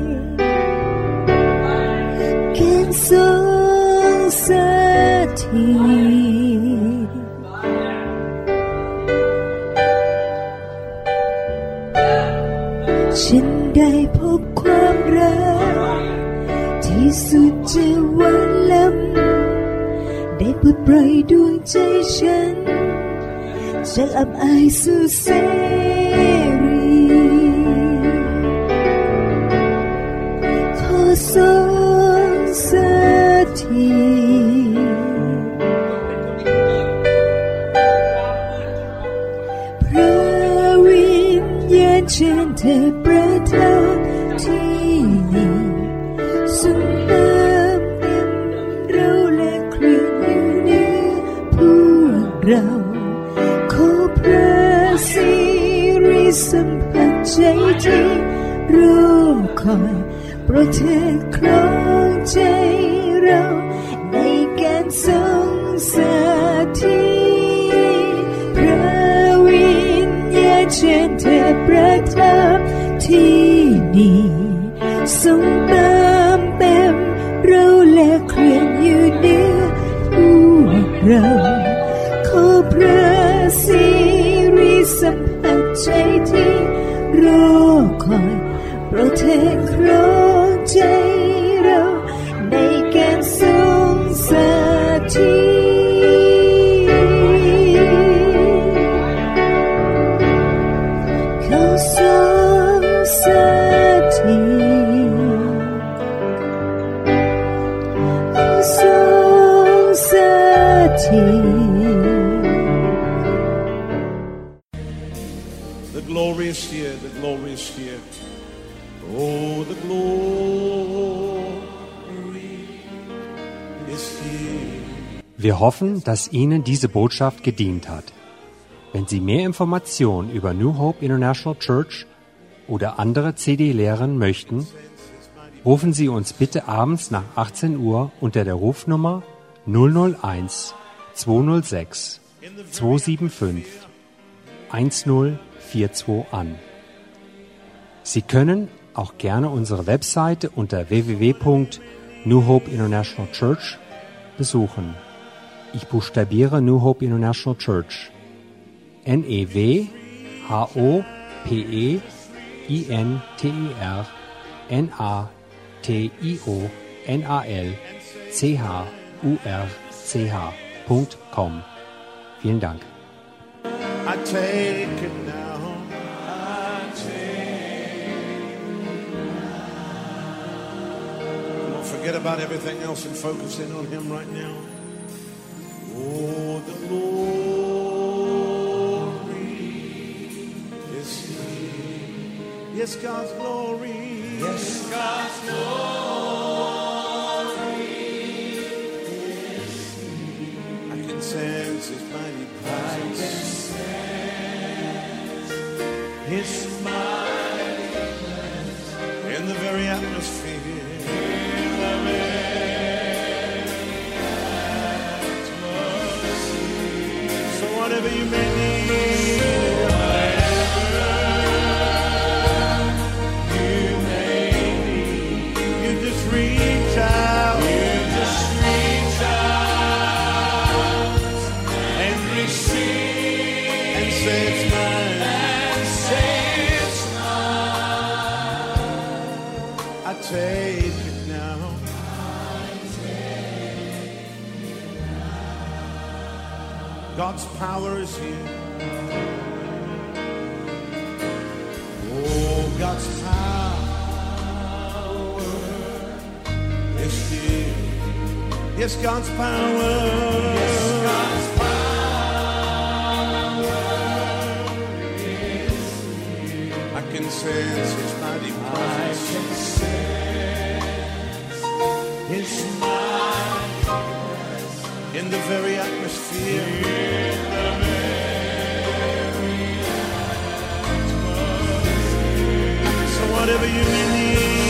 การทรงสถิตฉันได้พบความรักที่สุดจะหวานล้ำได้ปลดปล่อยดวงใจฉันจากอับอายสู่เสรีขอทรงสถิตพระวิญญาณเชิญเธอประทับที่นี่ทรงเติมเต็มเราและเคลื่อนอยู่เหนือพวกเราขอพระสิริสัมผัสใจที่รอคอยโปรดเธอครองใจเราในการทรงสถิตพระวิญญาณเชิญเธอประทับที่นี่ทรงเติมเต็มเราและเคลื่อนอยู่เหนือพวกเราขอพระสิริสัมผัสใจที่รอคอยโปรดเธอครองใจเราในการทรงสถิตขอทรงสถิตขอทรงสถิต The glory is here, the glory is here. Oh, the glory is here. Wir hoffen, dass Ihnen diese Botschaft gedient hat. Wenn Sie mehr Informationen über New Hope International Church oder andere C D lehren möchten, rufen Sie uns bitte abends nach achtzehn Uhr unter der Rufnummer null null eins zwei null sechs zwei sieben fünf eins null vier zwei an. Sie können auch gerne unsere Webseite unter w w w punkt new hope international church besuchen. Ich buchstabiere New Hope International Church. N E W H O P E I N T E R N A T I O N A L C H U R c h punkt com. Vielen Dank. I take it now. I take it. Don't forget about everything else and focus in on Him right now. Oh, the glory is here. Yes, God's glory. Yes, God's glory is here. I can sense His mighty presence. His mighty presence in the very atmosphere. In the very atmosphere. So whatever you may need, whatever you may need, you just reach out. You just reach out and receive and say it's mine. I take it now. I take it now. God's power is here. Oh, God's power is here. Yes, God's power. Yes, God's power is here. I can sense His mighty presence. I can sense His mighty presence in the very atmosphere. In the very atmosphere. So whatever you may need.